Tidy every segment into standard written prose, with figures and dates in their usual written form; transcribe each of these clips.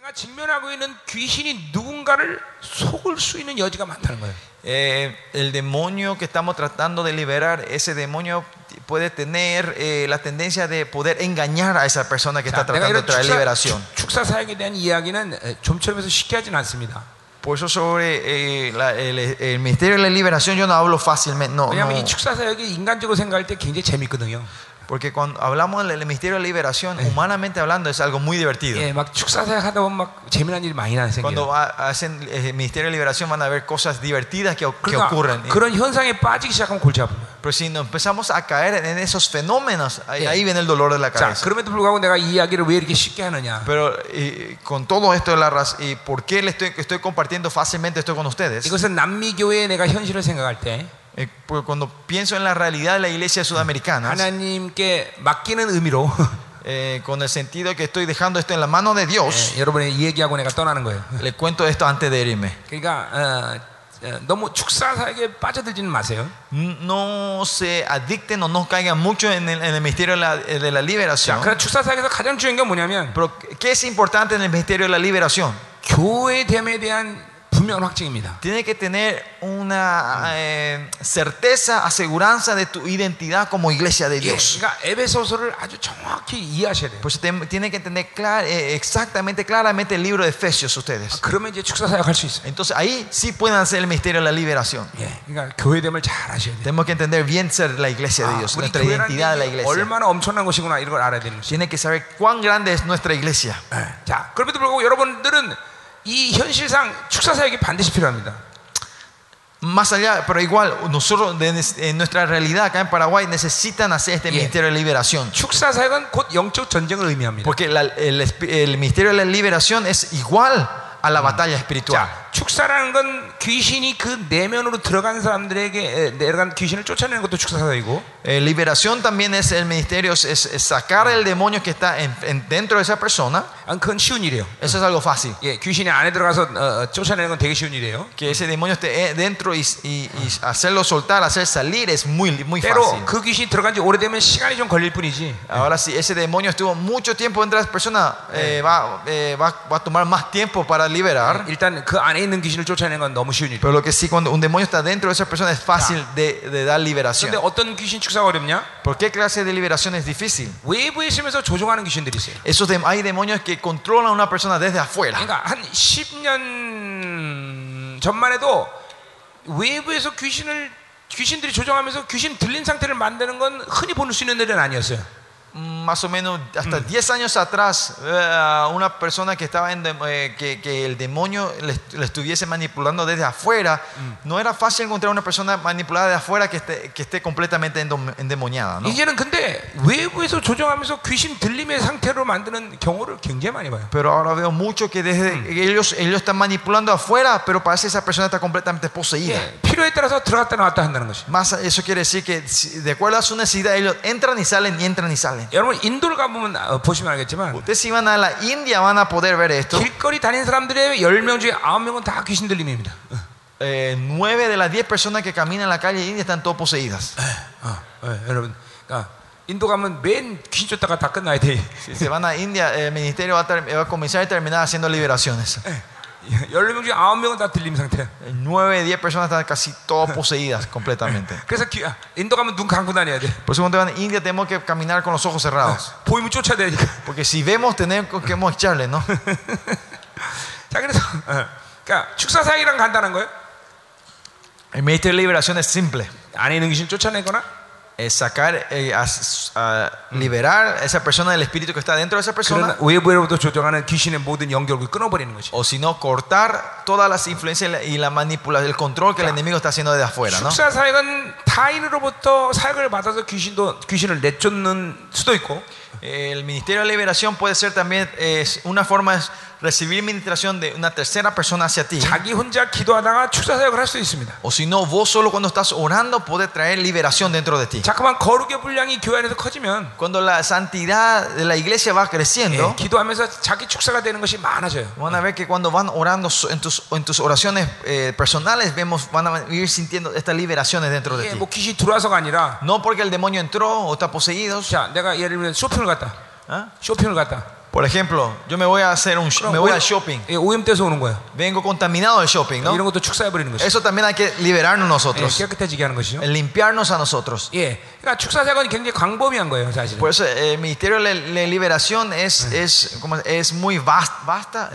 내가 직면하고 있는 귀신이 누군가를 속을 수 있는 여지가 많다는 거예요. El demonio que estamos tratando de liberar, ese demonio puede tener la tendencia de poder engañar a esa persona que está tratando de traer liberación. 축사 사역에 대한 이야기는 좀처럼 해서 쉽게 하진 않습니다. Por eso sobre el ministerio de la liberación yo no hablo fácilmente. No, 왜냐하면 이 축사 사역이 인간적으로 생각할 때 굉장히 재밌거든요. porque cuando hablamos del ministerio de la liberación, humanamente hablando, es algo muy divertido. 예, 막 축사 사역 하다 보면 막 재미난 일이 많이 생겨요. Cuando hacen el ministerio de liberación van a ver cosas divertidas que ocurren. 그런 현상에 빠지기 시작하면 골치 아픕니다. Pero si nos empezamos a caer en esos fenómenos, ahí viene el dolor de la 자, cabeza. 그럼에도 불구하고 내가 이 이야기를 왜 이렇게 쉽게 하느냐? Pero con todo esto de la raza, ¿y por qué estoy compartiendo fácilmente esto con ustedes? 이것은 남미 교회의 내가 현실을 생각할 때 Cuando pienso en la realidad de la iglesia sudamericana, 하나님께 맡기는 의미로 con el sentido que estoy dejando esto en la mano de Dios, 여러분이 이 얘기하고 내가 떠나는 거예요. le cuento esto antes de irme. 그러니까 너무 축사 사역에 빠져들지는 마세요. No se adicten o no caigan mucho en el misterio de la liberación. 그러나 축사 사역에서 가장 중요한 게 뭐냐면, Pero ¿qué es importante en el misterio de la liberación? 교회됨에 대한 분명한 확증입니다. Tiene que tener una certeza, aseguranza de tu identidad como iglesia de Dios. 그러니까 에베소서를 아주 정확히 이해하셔야 돼요. Pues tienen que entender exactamente, claramente el libro de Efesios ustedes. 그러면 이제 축사 사역할 수 있어요. Entonces ahí sí pueden hacer el misterio de la liberación. 예, 그러니까 교회됨을 잘 아셔야 돼요. Tenemos que entender bien ser la iglesia de Dios, 우리 nuestra identidad de la 교회라는 게 iglesia. 얼마나 엄청난 것이구나 이걸 알아야 되는 것이죠. Tienen que saber cuán grande es nuestra iglesia. 자, 그럼에도 불구하고 여러분들은 이 현실상 축사 사역이 반드시 필요합니다. Más allá, pero igual nosotros en nuestra realidad acá en Paraguay necesitan hacer este ministerio de liberación. 축사 사역은 곧 영적 전쟁을 의미합니다. Porque el ministerio de la liberación es igual a la batalla espiritual. 자, 축사라는 건 귀신이 그 내면으로 들어간 사람들에게 내려간 귀신을 쫓아내는 것도 축사 사역이고, Liberación también es el ministerio, es sacar el demonio que está dentro de esa persona. 그건 쉬운 일이에요. Eso es algo fácil. 예, 귀신이 안에 들어가서 쫓아내는 건 되게 쉬운 일이에요. Que ese demonio esté dentro y hacerlo soltar, hacer salir es muy 때로 fácil. 그 귀신이 들어간 지 오래되면 시간이 좀 걸릴 뿐이지. Ahora si ese demonio estuvo mucho tiempo dentro de esa persona, va a tomar más tiempo para liberar. 일단 그 안에 있는 귀신을 쫓아내는 건 너무 쉬운 일이에요. Pero lo que sí, cuando un demonio está dentro de esa persona es fácil de dar liberación. 그런데 어떤 귀신 축사가 어렵냐? ¿Por qué clase de liberación es difícil? 외부에 있으면서 조종하는 귀신들이 있어요. Hay demonios que controlan a una persona desde afuera. 그러니까 한 10년 전만 해도 외부에서 귀신들이 조종하면서 귀신 들린 상태를 만드는 건 흔히 볼 수 있는 일은 아니었어요. Más o menos hasta 10 años atrás, una persona que estaba que el demonio le estuviese manipulando desde afuera, no era fácil encontrar una persona manipulada de afuera que esté completamente endemoniada, ¿no? 이제는 근데 외부에서 조종하면서 귀신 들림의 상태로 만드는 경우를 굉장히 많이 봐요. Pero ahora veo mucho que desde ellos están manipulando afuera, pero parece que esa persona está completamente poseída. 예, 필요에 따라서 들어갔다 나왔다 한다는 것이. Más eso quiere decir que de acuerdo a su necesidad ellos entran y salen y entran y salen. 여러분 인도를 가보면 보시면 알겠지만, Ustedes si van a la India van a poder ver esto. 길거리 다니는 사람들의 10명 중에 9명은 다 귀신 들림입니다. 9 de las 10 personas que caminan en la calle india están todas poseídas. 여러분, 그러니까 인도 가면 맨 귀신 쫓다가 다 끝나야 돼. Si se van a India, el ministerio va a comenzar y terminar haciendo liberaciones. 10명 중에 9명은 다 들림 상태야. 9 de 10 personas están casi todas poseídas completamente. 그래서 인도 가면 눈 감고 다녀야 돼. Por eso cuando van a India tenemos que caminar con los ojos cerrados. 보이면 쫓아야 되니까. Porque si vemos tenemos que echarle, ¿no? 자, 그래서 그러니까 축사 사역이란 간단한 거예요. El ministerio de liberación es simple. 안에 있는 귀신 쫓아내거나, Es sacar, liberar a esa persona del espíritu que está dentro de esa persona. 외부로부터 조종하는 귀신의 모든 연결을 끊어버리는 것이. O si no, cortar todas las influencias y la manipulación, el control que el enemigo está haciendo desde afuera, ¿no? 축사 사역은 타인으로부터 사역을 받아서 귀신을 내쫓는 수도 있고, El ministerio de liberación puede ser también una forma de recibir ministración de una tercera persona hacia ti. 자기 혼자 기도하다가 축사 사역을 할 수 있습니다. O si no, vos solo cuando estás orando puede traer liberación dentro de ti. 자꾸만 거룩의 분량이 교회 안에서 커지면, Cuando la santidad de la iglesia va creciendo, 기도하면서 자기 축사가 되는 것이 많아져요. van a ver que cuando van orando en tus oraciones personales, van a ir sintiendo estas liberaciones dentro de ti. 뭐 귀신이 들어와서가 아니라, No porque el demonio entró o está poseído. 자, 내가 예를 들면 쇼핑을 갔다. 쇼핑을 갔다. Por ejemplo, yo me voy a hacer me voy al shopping. 예, 오염돼서 오는 거예요. Vengo contaminado del shopping, ¿no? 이런 것도 축사해 버리는 것이죠. Eso también hay que liberarnos 예, nosotros. 깨끗해지게 하는 것이죠. Limpiarnos a nosotros. 예, 그러니까 축사 사건이 굉장히 광범위한 거예요, 사실은. Por eso el ministerio de liberación es muy vasta,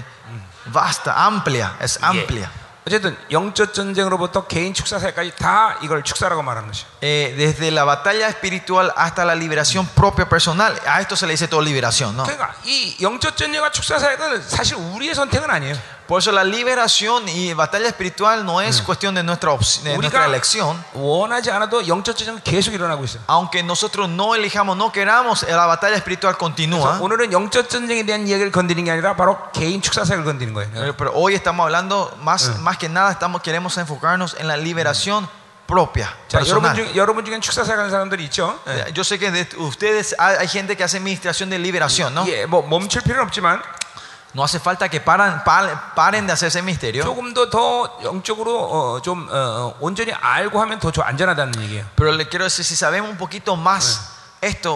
amplia, es amplia. 어쨌든 영적 전쟁으로부터 개인 축사사까지 다 이걸 축사라고 말하는 것이죠. Desde la batalla espiritual hasta la liberación propia personal, a esto se le dice todo liberación, ¿no? 그러니까 이 영적 전쟁과 축사사역은 사실 우리의 선택은 아니에요. Por eso la liberación y batalla espiritual no es cuestión de nuestra elección. 원하지 않아도 영적 전쟁은 계속 일어나고 있어요. Aunque nosotros no elijamos, no queramos, la batalla espiritual continúa. 오늘은 영적 전쟁에 대한 이야기를 건드리는 게 아니라 바로 개인 축사사역을 건드리는 거예요. Pero hoy estamos hablando más que nada queremos enfocarnos en la liberación propia. 자, 여러분 중에 축사사역 하는 사람들이 있죠. Yo sé que de ustedes hay gente que hace administración de liberación, ¿no? 예, 뭐 멈출 필요는 없지만 No hace falta que paren de hacer ese misterio. 조금 더 영적으로 좀 온전히 알고 하면 더 안전하다는 얘기예요. Pero le quiero decir, si sabemos un poquito más, esto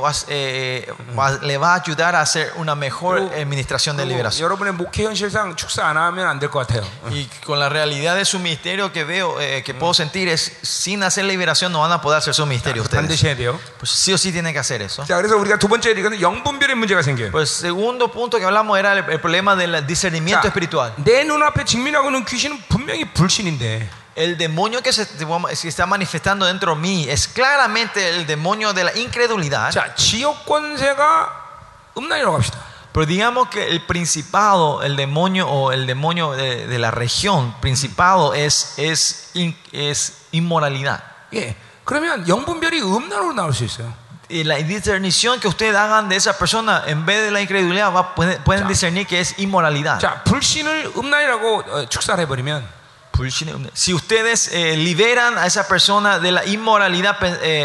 le va a ayudar a hacer una mejor administración de liberación. 여러분의 목회 현실상 축사 안 하면 안 될 것 같아요. Y con la realidad de su ministerio que veo, que puedo sentir es, sin hacer liberación no van a poder hacer su ministerio ustedes. 반드시 해야 돼요. Pues sí o sí tienen que hacer eso. 자, 그래서 우리가 두 번째 얘기는 영분별의 문제가 생겨요. Pues segundo punto que hablamos era el problema del discernimiento espiritual. 내 눈앞에 직면하고 있는 귀신은 분명히 불신인데. El demonio que se está manifestando dentro de mí es claramente el demonio de la incredulidad. 자, 지역 권세가 음란이라고 합시다. Pero digamos que el principado, el demonio o el demonio de la región, principado es inmoralidad. 예, 그러면 영분별이 음란으로 나올 수 있어요. Y la discernición que ustedes hagan de esa persona en vez de la incredulidad pueden discernir que es inmoralidad. 자, 불신을 음란이라고 축사를 해버리면. Si ustedes liberan a esa persona de la inmoralidad,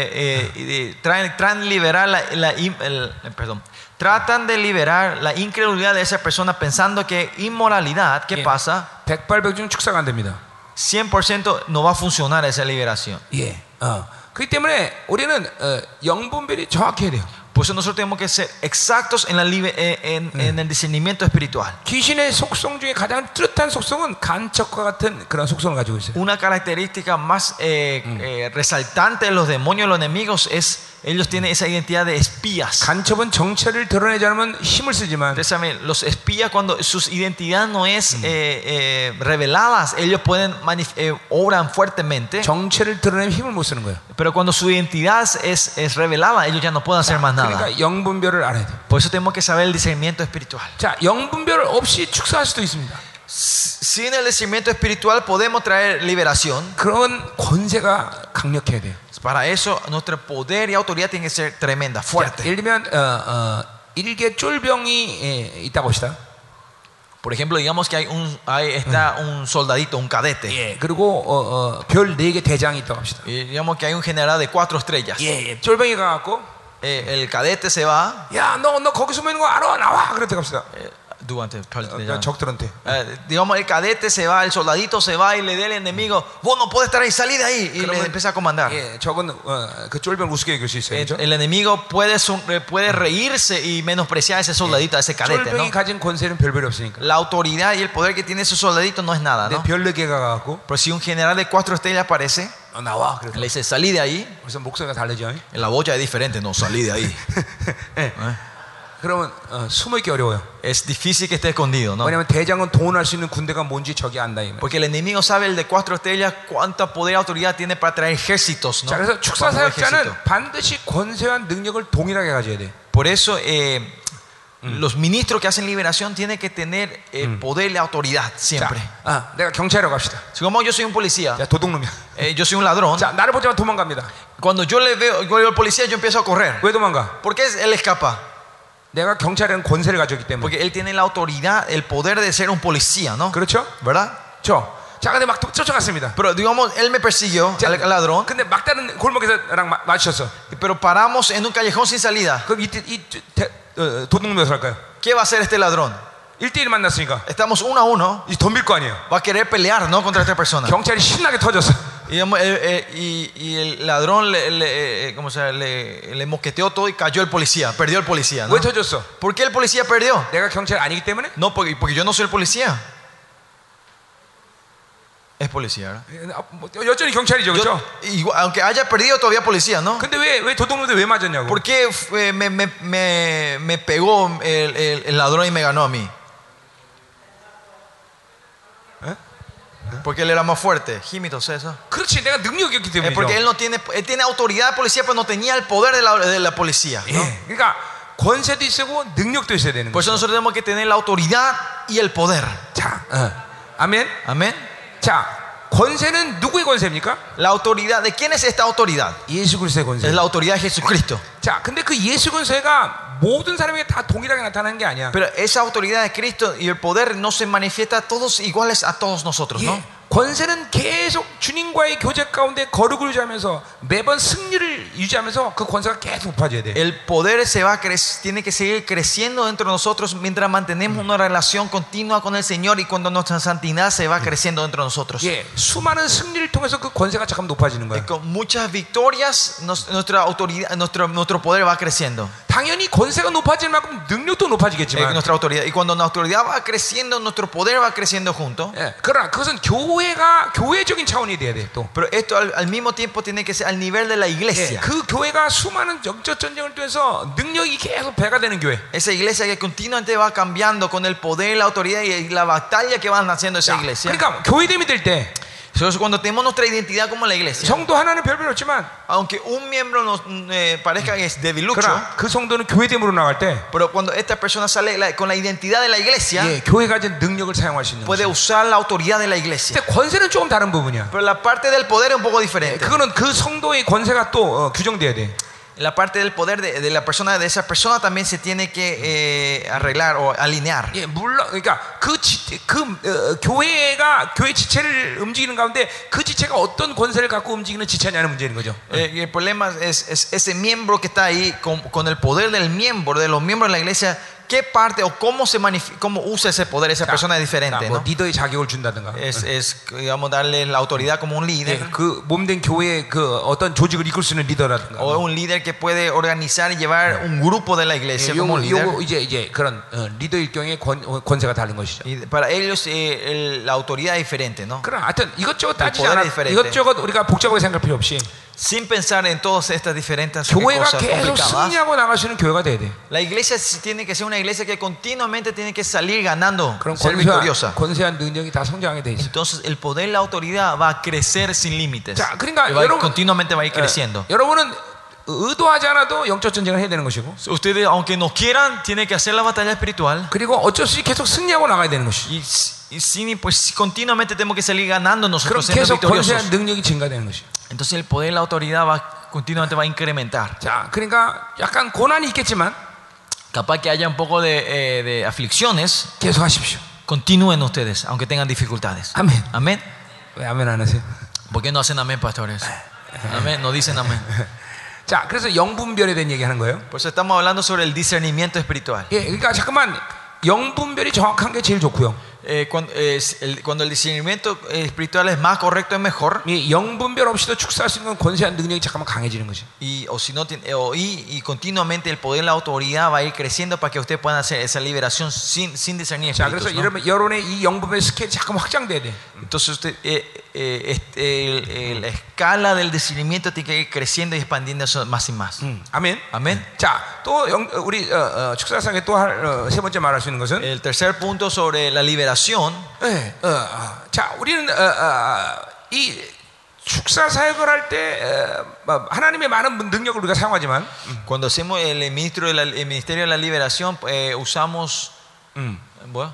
tratan de liberar la incredulidad de esa persona pensando que inmoralidad, ¿qué pasa? 100%중 축사가 안 됩니다. 100% no va a funcionar esa liberación. 예, 그렇기 때문에 우리는 영분별이 정확해야 돼요. Por eso nosotros tenemos que ser exactos en el discernimiento espiritual. 귀신의 속성 중에 가장 뚜렷한 속성은 간척과 같은 그런 속성을 가지고 있어요. Una característica más resaltante de los demonios, los enemigos, es ellos tienen esa identidad de espías. 간첩은 정체를 드러내지 않으면 힘을 쓰지만, Ustedes saben, los espías cuando su identidad no es reveladas, ellos pueden obran fuertemente. 정체를 드러내면 힘을 못 쓰는 거예요. Pero cuando su identidad es revelada, ellos ya no pueden hacer más nada. 그러니까 영분별을 알아야 돼요. Por eso tenemos que saber el discernimiento espiritual. 자, 영분별 없이 축사할 수도 있습니다. Sin el discernimiento espiritual podemos traer liberación. 그런 권세가 강력해야 돼요. Para eso nuestro poder y autoridad tiene que ser tremenda, fuerte. 자, 예를 들면 일개 쫄병이 있다고 합시다. Por ejemplo, digamos que está un soldadito, un cadete. 예, 그리고 별 4개 대장이 있다고 합시다. Y digamos que hay un general de 4 estrellas. 예, 쫄병이 가갖고 El cadete se va. 야, 너 거기 숨어 있는 거 알아? 나와. 그랬다고 합시다. 적들한테. Digamos, el cadete se va, el soldadito se va y le da al enemigo, vos no podés estar ahí, salí de ahí. Y le empieza a comandar. 예, 적은 그 쫄병을 우습게 여길 수 있어요. El enemigo puede reírse y menospreciar a ese soldadito, a ese cadete, ¿no? 쫄병이 가진 권세는 별별이 없으니까. La autoridad y el poder que tiene ese soldadito no es nada, ¿no? 별 4개가 가갖고 Pero si un general de 4 estrellas aparece, 나와. le dice, salí de ahí. 그래서 목소리가 다르죠. La boya es diferente, no, salí de ahí. 그러면 숨어있기 어려워요. Es difícil que esté escondido, ¿no? 왜냐하면 대장은 동원할 수 있는 군대가 뭔지 적이 안다. Porque el enemigo sabe, el de 4 estrellas, cuánta poder y autoridad tiene para traer ejércitos, ¿no? 자, 그래서 축사 사역자는 반드시 권세와 능력을 동일하게 가져야 돼. Por eso los ministros que hacen liberación tienen que tener poder y autoridad siempre. 자, 내가 경찰이라고 합시다. Como yo soy un policía, 자, 도둑놈이야. yo soy un ladrón. 자, 나를 보자마자 도망갑니다. Cuando yo veo al policía, yo empiezo a correr. 왜 도망가? ¿Por qué él escapa? 내가 경찰에는 권세를 가졌기 때문에. Porque él tiene la autoridad, el poder de ser un policía, ¿no? 그렇죠? ¿Verdad? 자, 근데 막 쫓아갔습니다. Pero digamos, él me persiguió, al ladrón. 근데 막다른 골목에서랑 마주쳤어. Pero paramos en un callejón sin salida. 그럼 도둑놈이 어떻게 할까요? ¿Qué va a hacer este ladrón? 1대1 만났으니까 Estamos 1 a 1. 이 덤빌 거 아니에요. Va a querer pelear, ¿no? Contra esta persona. 경찰이 신나게 터졌어. Y, digamos, y el ladrón ¿cómo se llama? Le mosqueteó todo y cayó el policía, perdió el policía, ¿no? 왜 터졌어? ¿Por qué el policía perdió? 내가 경찰 아니기 때문에? No, porque yo no soy el policía. Es policía, ¿verdad? 여전히 경찰이죠, 그렇죠? Aunque haya perdido todavía policía, ¿no? 근데 왜 도둑놈들 왜 맞았냐고? ¿Por qué me pegó el ladrón y me ganó a mí? Porque él era más fuerte. Jimito, eso. 그렇지, 내가 능력이 없기 때문이죠. Porque él tiene autoridad de policía, pero no tenía el poder de la policía, ¿no? 예, 그러니까 권세도 있고 능력도 있어야 되는 Por eso 거죠. nosotros tenemos que tener la autoridad y el poder. 자, 아멘. Amén. 자, 권세는 누구의 권세입니까? La autoridad, ¿de quién es esta autoridad? 예수 그리스도의 권세. Es la autoridad de Jesucristo. 자, 근데 그 예수 권세가 모든 사람에게 다 동일하게 나타나는 게 아니야. Pero esa autoridad de Cristo y el poder no se manifiesta a todos iguales a todos nosotros, ¿no? 예, 권세는 계속 주님과의 교제 가운데 거룩을 유지하면서 매번 승리를 유지하면서 그 권세가 계속 높아져야 돼. El poder tiene que seguir creciendo dentro de nosotros mientras mantenemos una relación continua con el Señor y cuando nuestra santidad se va creciendo dentro de nosotros. 예, 수많은 승리를 통해서 그 권세가 잠깐 높아지는 거야. Con muchas victorias nuestra autoridad, nuestro poder va creciendo. 당연히 권세가 높아질 만큼 능력도 높아지겠지만. Nuestra autoridad. Y cuando nuestra autoridad va creciendo, nuestro poder va creciendo junto. 예, 그러나 그것은 교회적인 차원이 돼야 돼 또. Pero esto al mismo tiempo tiene que ser al nivel de la 예, iglesia. 그 교회가 수많은 영적 전쟁을 통해서 능력이 계속 배가 되는 교회. Esa iglesia que continuamente va cambiando con el poder, la autoridad y la batalla que van haciendo esa iglesia. 그러니까 교회됨이 될 때 Entonces, cuando tenemos nuestra identidad como la iglesia, 성도 하나는 별별 없지만 aunque un miembro nos parezca que es debilucho, 그러나 그 성도는 교회됨으로 나갈 때 pero cuando esta persona sale con la identidad de la iglesia, 예, 교회가 가진 능력을 사용할 수 있는 puede 거죠. usar la autoridad de la iglesia. 근데 권세는 조금 다른 부분이야. Pero la parte del poder es un poco diferente. 그거는 그 성도의 권세가 또 규정돼야 돼. La parte del poder de la persona, de esa persona también se tiene que arreglar o alinear. 예, 물론 그러니까 교회가 교회 지체를 움직이는 가운데 그 지체가 어떤 권세를 갖고 움직이는 지체냐는 문제인 거죠. Y el problema es ese miembro que está ahí con el poder del miembro, de los miembros de la iglesia. ¿Qué parte o cómo usa ese poder esa persona es diferente, 뭐 ¿no? 리더의 자격을 준다든가. Digamos, darle la autoridad como un líder. 예, 그 몸된 교회의 그 어떤 조직을 이끌 수 있는 리더라든가. O un líder que puede organizar y llevar un grupo de la iglesia como un líder. 요거 이제 그런 리더일 경우에 권세가 다른 것이죠. Y para ellos la autoridad es diferente, ¿no? 그럼 하여튼 이것저것 따지지 poder 않아. es diferente. 이것저것 우리가 복잡하게 생각할 필요 없이 Sin pensar en todas estas diferentes 교회가 cosas 계속 complicadas. 승리하고 나갈 수 있는 교회가 돼야 돼. La iglesia tiene que ser una iglesia que continuamente tiene que salir ganando, 그럼 ser victoriosa. 권세한 능력이 다 성장하게 돼 있어. Entonces el poder y la autoridad va a crecer sin límites. 자, 그러니까 Continuamente va a ir creciendo. 여러분은 의도하지 않아도 영적 전쟁을 해야 되는 것이고, Ustedes, aunque no quieran, tienen que hacer la batalla espiritual. 그리고 어쩔 수 없이 계속 승리하고 나가야 되는 것이죠. Pues continuamente tenemos que salir ganando 그럼 nosotros, siendo 계속 victoriosos. 권세한 능력이 증가되는 것이죠. Entonces el poder y la autoridad continuamente va a incrementar. 자, 그러니까 약간 고난이 있겠지만 Capaz que haya un poco de aflicciones. 계속 하십시오. Continúen ustedes, aunque tengan dificultades. 아멘. Amén. 왜 아멘 안 하세요? ¿Por qué no hacen amén, pastores? Amén, no dicen amén. 자, 그래서 영분별에 대한 얘기하는 거예요. Por eso estamos hablando sobre el discernimiento espiritual. 예, 그러니까 잠깐만 영분별이 정확한 게 제일 좋고요. Cuando el discernimiento espiritual es más correcto, es mejor. 이 영분별 없이도 축사할 수 있는 권세한 능력이 잠깐만 강해지는 거지. Y continuamente el poder y la autoridad va a ir creciendo para que ustedes puedan hacer esa liberación sin discernir 자, espíritus, 그래서 ¿no? 여러분의 이 영분별 스케일이 잠깐 확장돼야 돼. Entonces la escala del discernimiento tiene que ir creciendo y expandiéndose más y más. 아멘. Amén. 자, 또 우리 축사상에 또 세 번째 말할 수 있는 것은 El tercer punto sobre la liberación. 자, 우리는 이 축사 사역을 할 때 하나님의 많은 능력을 우리가 사용하지만 Cuando hacemos el ministerio de la liberación, usamos ¿bueno?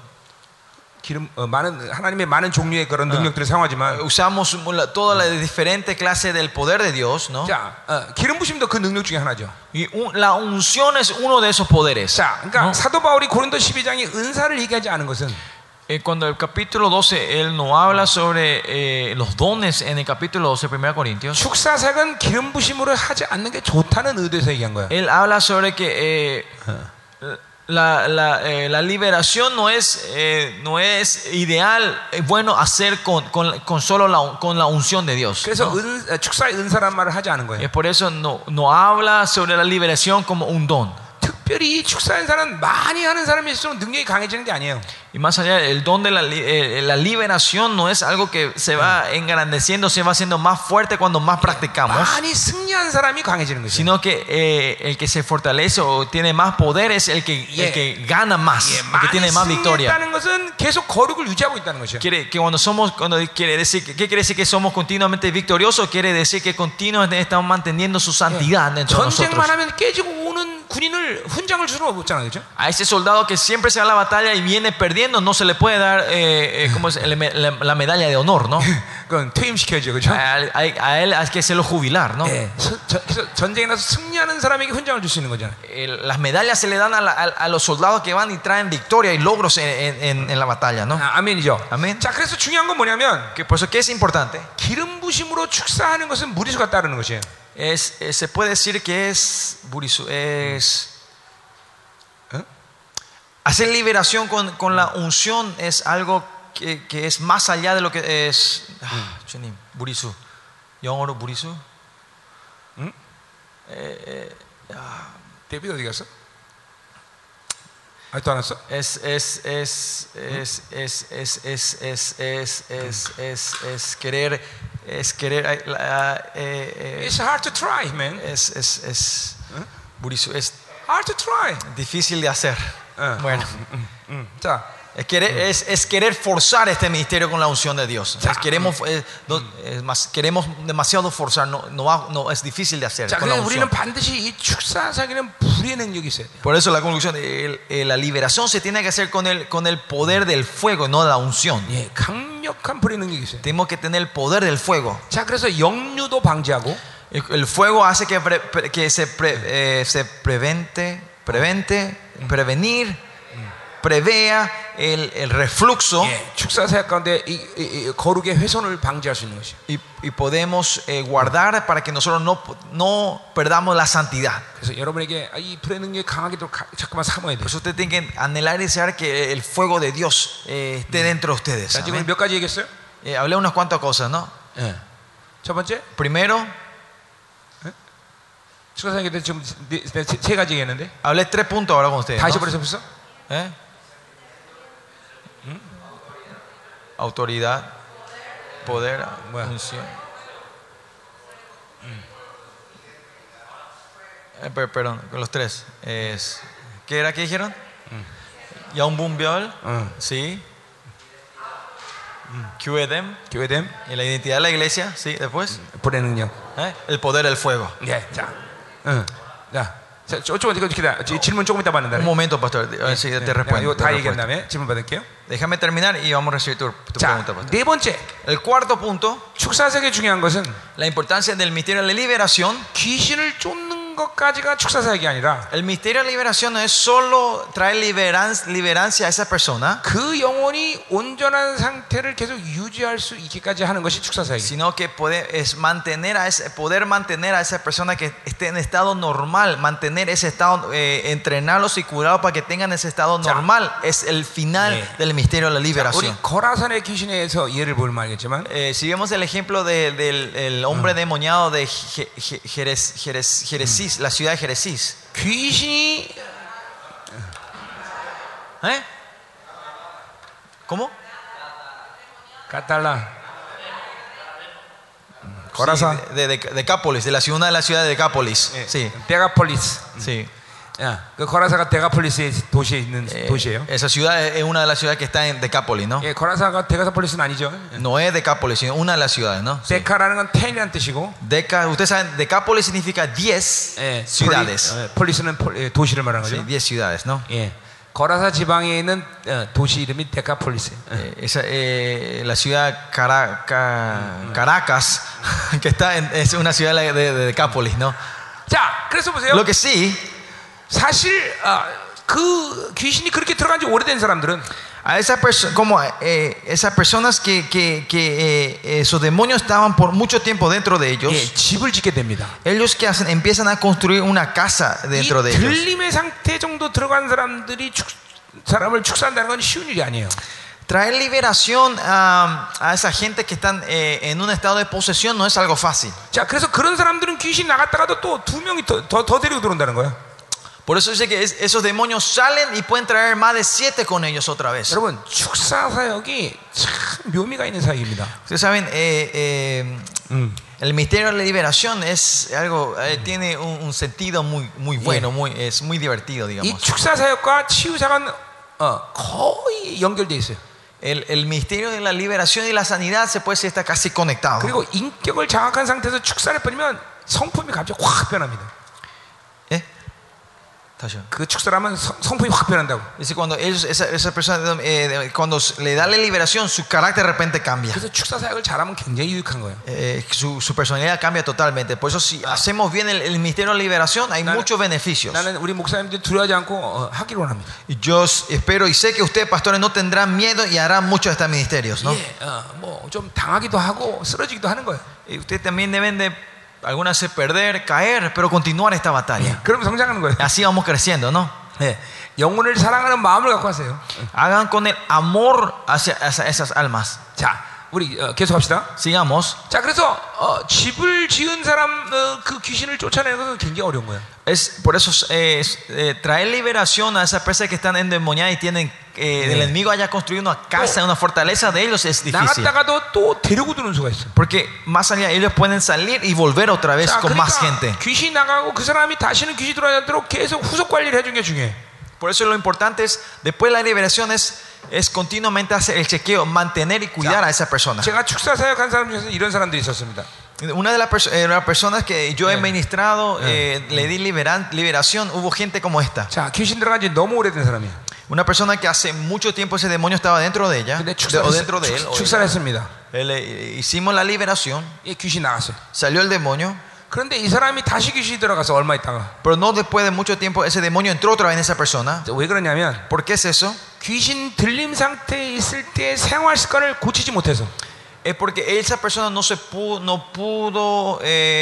하나님의 많은 종류의 그런 능력들을 사용하지만 usamos todas las diferentes clases del poder de Dios, ¿no? 자, 기름 부심도 그 능력 중에 하나죠. Y la unción es uno de esos poderes. 자, 그러니까 ¿no? 사도 바울이 고린도 12장에 은사를 얘기하지 않은 것은 Cuando el capítulo 12 él no habla sobre los dones en el capítulo 12 1 Corintios. 축사 사역은 기름 부심으로 하지 않는 게 좋다는 의도에서 얘기한 거야. Él habla sobre que la liberación no es ideal, bueno hacer con solo con la unción de Dios. 그래서 ¿no? 축사의 은사란 말을 하지 않은 거예요. Es por eso no habla sobre la liberación como un don. 특별히 이 축사 은사는 많이 하는 사람일수록 능력이 강해지는 게 아니에요. Y más allá, el don de la liberación no es algo que se va engrandeciendo, se va haciendo más fuerte cuando más practicamos, 많이 승리한 사람이 강해지는 거죠. sino que el que se fortalece o tiene más poder es el que gana más, el que tiene más victoria. 승리했다는 것은 계속 거룩을 유지하고 있다는 것이죠. Quiere que ¿qué quiere decir que somos continuamente victoriosos? Quiere decir que continuamente estamos manteniendo su santidad dentro de nosotros. 전쟁만 하면 깨지고 오는 군인을 훈장을 줄 수는 없잖아요, 그렇죠? A ese soldado que siempre se va a la batalla y viene perdiendo, no se le puede dar ¿cómo es? La medalla de honor, ¿no? 그건 퇴임시켜야죠, 그렇죠? A él hay que hacerlo jubilar, ¿no? 그래서 전쟁에 나서 승리하는 사람에게 훈장을 줄 수 있는 거잖아요. Las medallas se le dan a los soldados que van y traen victoria y logros en la batalla, ¿no? 아멘이죠. 아멘. 자, 그래서 중요한 건 뭐냐면 Por eso, ¿qué es importante? 기름 부심으로 축사하는 것은 무리수가 따르는 것이에요. Se puede decir que hacer liberación con la unción es algo que es más allá de lo que es. 주님, 무리수. 영어로 무리수? 데뷔 어디 갔어? 아직도 안 왔어? Querer. It's hard to try, man. 무리수 es Hard to try. difícil de hacer. Bueno. 자, Es querer forzar este ministerio con la unción de Dios. Queremos demasiado forzar, no es difícil de hacer. 자, Con la 그래서 우리는 unción. 반드시 이 축사사기는 불의 능력이 있어야 돼요. Por eso la conclusión, la liberación se tiene que hacer con el poder del fuego, no de la unción. 예, 강력한 불의 능력이 있어요. Tenemos que tener el poder del fuego. 자, 그래서 역류도 방지하고 El fuego hace que se prevenir, prevea el reflujo. 예, 축사사역 가운데 이 거룩의 훼손을 방지할 수 있는 것이에요. Y podemos guardar para que nosotros no perdamos la santidad. 그래서 여러분에게 이 불의 능력이 강하게도 자꾸만 삼아야 돼요. Por eso usted tiene que anhelar y desear que el fuego de Dios esté dentro de ustedes. 자, 지금 몇 가지 얘기했어요? Hablé unas cuantas cosas, ¿no? 예. 첫 번째, Primero, 축사사역에 대해 지금 세 가지 얘기했는데 hablé 3 puntos ahora con ustedes, 다시 ¿no? 버렸어 벌써? Autoridad, poder, Bueno. unción. Perdón, con los 3. ¿Qué era que dijeron? Yaumbumbel, sí. QEDEM, 교회됨, y la identidad de la iglesia, sí, después. 불의 능력. El poder del fuego. 예, 자, 조금 이거 기다. 질문 조금 이따 받는다. Un momento, pastor. A ver si te respondo. 이거 다 얘기한 다음에 질문 받을게요. Déjame terminar y vamos a recibir tu 자, pregunta, pastor. 네 번째, El cuarto punto, 축사사역의 중요한 것은 la importancia del misterio de la liberación. 귀신을 쫓는 것까지가 축사사역이 아니라 El misterio de la liberación no es solo traer liberancia a esa persona, 그 영혼이 온전한 상태를 계속 유지할 수 있게까지 하는 것이 축사사역이에요. sino que poder mantener a esa persona que esté en estado normal, mantener ese estado, entrenarlos y curarlos para que tengan ese estado normal. Es el final del misterio de la 우리 liberación. 거라산의 귀신에 대해서 예를 보면 알겠지만 Si vemos el ejemplo del hombre demoniado de Jerezís, la ciudad de Jerezís. 귀신이 ¿Cómo? 까탈라 Sí, 거라산 de Decápolis, de una de las ciudades de Decápolis. Sí, 데가폴리스. sí. 야, 그 거라사가 데가폴리스의 도시에 있는 도시예요. Esa ciudad es una de las ciudades que está en Decápolis, ¿no? 예, 거라사가 데가폴리스는 아니죠. No es Decápolis, sino una de las ciudades, ¿no? Sí. 데카라는 건 10이라는 뜻이고, Ustedes saben, Decápolis significa 10 ciudades. 폴리스는 도시를 말하는 Sí, 거죠. 10 ciudades, ¿no? 예, 거라사 지방에 있는 도시 이름이 데카폴리스예요. La ciudad Caracas, que es una ciudad de Decápolis, ¿no? 자, 그래서 보세요. Lo que sí, 사실 그 귀신이 그렇게 들어간 지 오래된 사람들은 A esas personas que esos demonios estaban por mucho tiempo dentro de ellos, 예, 집을 짓게 됩니다. ellos que hacen, empiezan a construir una casa 이 dentro de ellos. 들림의 상태 정도 들어간 사람들이 사람을 축사한다는 건 쉬운 일이 아니에요. Traer liberación a esa gente que están en un estado de posesión no es algo fácil. 자, 그래서 그런 사람들은 귀신 나갔다가도 또 2명이 더 데리고 들어온다는 거예요. Por eso dice que esos demonios salen y pueden traer más de 7 con ellos otra vez. 여러분, 축사 사역이 참 묘미가 있는 사역입니다. Ustedes saben, el misterio de la liberación es algo, tiene un sentido muy bueno, es muy divertido, 이 digamos. 축사 사역과 치유 사역은 거의 연결돼 있어요. El misterio de la liberación y la sanidad se puede decir está casi conectado. 그리고 인격을 장악한 상태에서 축사를 뿌리면 성품이 갑자기 확 변합니다. 그 축사를 하면 성품이 확 변한다고. Dice cuando esa persona cuando le da la liberación, su carácter de repente cambia. 그래서 축사 사역을 잘하면 굉장히 유익한 거예요. Su personalidad cambia totalmente. Por eso si hacemos bien el misterio de la liberación, hay muchos beneficios. 나는 우리 목사님들 두려워하지 않고 하기로 합니다. Y yo espero y sé que ustedes, pastores, no tendrán miedo y harán muchos de estos ministerios, ¿no? 예, 뭐좀 당하기도 하고 쓰러지기도 하는 거예요. Y ustedes también deben de algunas veces perder, caer, pero continuar esta batalla. 그럼 성장하는 거예요. Así vamos creciendo, ¿no? 예, 영혼을 사랑하는 마음을 갖고 하세요. Hagan con el amor hacia esas almas. 자, 우리 계속합시다. Sigamos. 자, 그래서 집을 지은 사람 그 귀신을 쫓아내는 것은 굉장히 어려운 거예요. Es por eso traer liberación a esas personas que están endemoniadas y tienen el enemigo haya construido una casa, una fortaleza de ellos es difícil. 나갔다가도 또 데리고 들어오는 수가 있어. Porque más allá ellos pueden salir y volver otra vez 자, con 그러니까 más gente. 귀신 나가고 그 사람이 다시는 귀신 들어오지 않도록 계속 후속 관리를 해주는 게 중요해. Por eso lo importante es después de la liberación es continuamente hacer el chequeo, mantener y cuidar a esa persona. 제가 축사 사역한 사람 중에서 이런 사람들이 있었습니다. Una de las personas que yo he ministrado, le di liberación, hubo gente como esta. 자, 귀신 들어간 지 너무 오래된 사람이야. Una persona que hace mucho tiempo ese demonio estaba dentro de ella, 근데 o dentro de él. 축사를 했습니다. Hicimos la liberación, 예, 귀신 나갔어요. salió el demonio, 그런데 이 사람이 다시 귀신이 들어가서 얼마 있다가 pero no después de mucho tiempo ese demonio entró otra vez en esa persona. 왜 그러냐면 ¿Por qué es eso? 귀신 들림 상태에 있을 때 생활 습관을 고치지 못해서. Es porque esa persona no pudo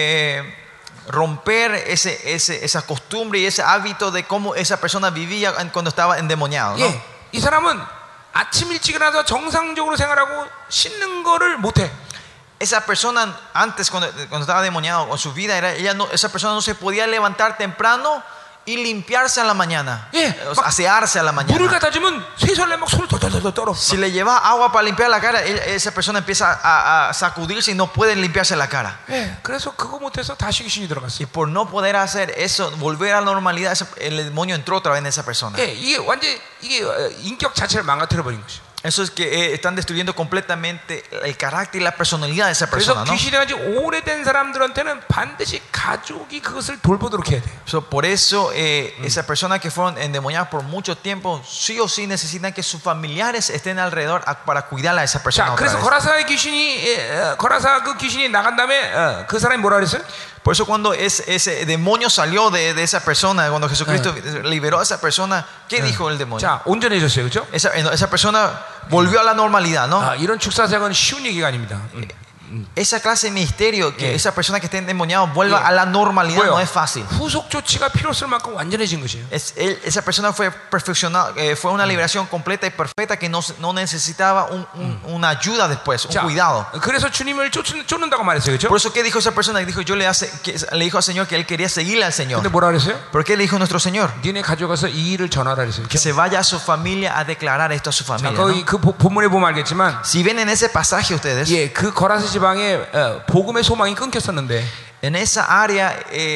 romper esa costumbre y ese hábito de cómo esa persona vivía cuando estaba endemoniado, ¿no? 예, 이 사람은 아침 일찍 일어나서 정상적으로 생활하고 씻는 거를 못해. Esa persona antes cuando estaba endemoniado con su vida esa persona no se podía levantar temprano y limpiarse a la mañana, asearse a la mañana. 물을 갖다 주면 쇠설레 막 손을 덜덜덜 떨어. Si le lleva agua para limpiar la cara, esa persona empieza a sacudirse y no puede limpiarse la cara. 예, 그래서 그거 못해서 다시 귀신이 들어갔어. Y por no poder hacer eso, volver a la normalidad, el demonio entró otra vez en esa persona. 예, 이게 완전 이게 인격 자체를 망가뜨려 버린 것이죠. Eso es que están destruyendo completamente el carácter y la personalidad de esa 그래서 persona, ¿no? 귀신이 아주 오래된 사람들한테는 반드시 가족이 그것을 돌보도록 해야 돼요. Por eso, esas personas que fueron endemoniadas por mucho tiempo, sí o sí necesitan que sus familiares estén alrededor para cuidar a esa persona. 자, otra 그래서 vez. 거라사의 귀신이 거라사 그 귀신이 나간 다음에 그 사람이 뭐라 그랬어요? Por eso cuando ese demonio salió de esa persona, cuando Jesucristo liberó a esa persona, ¿qué dijo el demonio? 자, 온전해졌어요, 그렇죠? Esa persona volvió a la normalidad, ¿no? 아, 이런 축사사역은 쉬운 얘기가 아닙니다. Esa clase de misterio, que esa persona que esté endemoniada vuelva a la normalidad, no es fácil. 후속 조치가 필요했을 만큼 완전해진 것이에요. Esa persona fue perfeccionada, fue una liberación completa y perfecta que no necesitaba una ayuda después, un 자, cuidado. 그래서 주님을 쫓는다고 말했어요, 그렇죠? Por eso, ¿qué dijo esa persona? Dijo, le dijo al Señor que él quería seguirle al Señor. 근데 뭐라 그랬어요? ¿Por qué le dijo nuestro Señor? 니네 가져가서 이 일을 전하라 그랬어요. Que se vaya a su familia a declarar esto a su 자, familia, 거기 ¿no? 그 본문에 보면 알겠지만, Si ven en ese pasaje ustedes, 예, 그 거라사 지방에 복음의 소망이 끊겼었는데. en esa área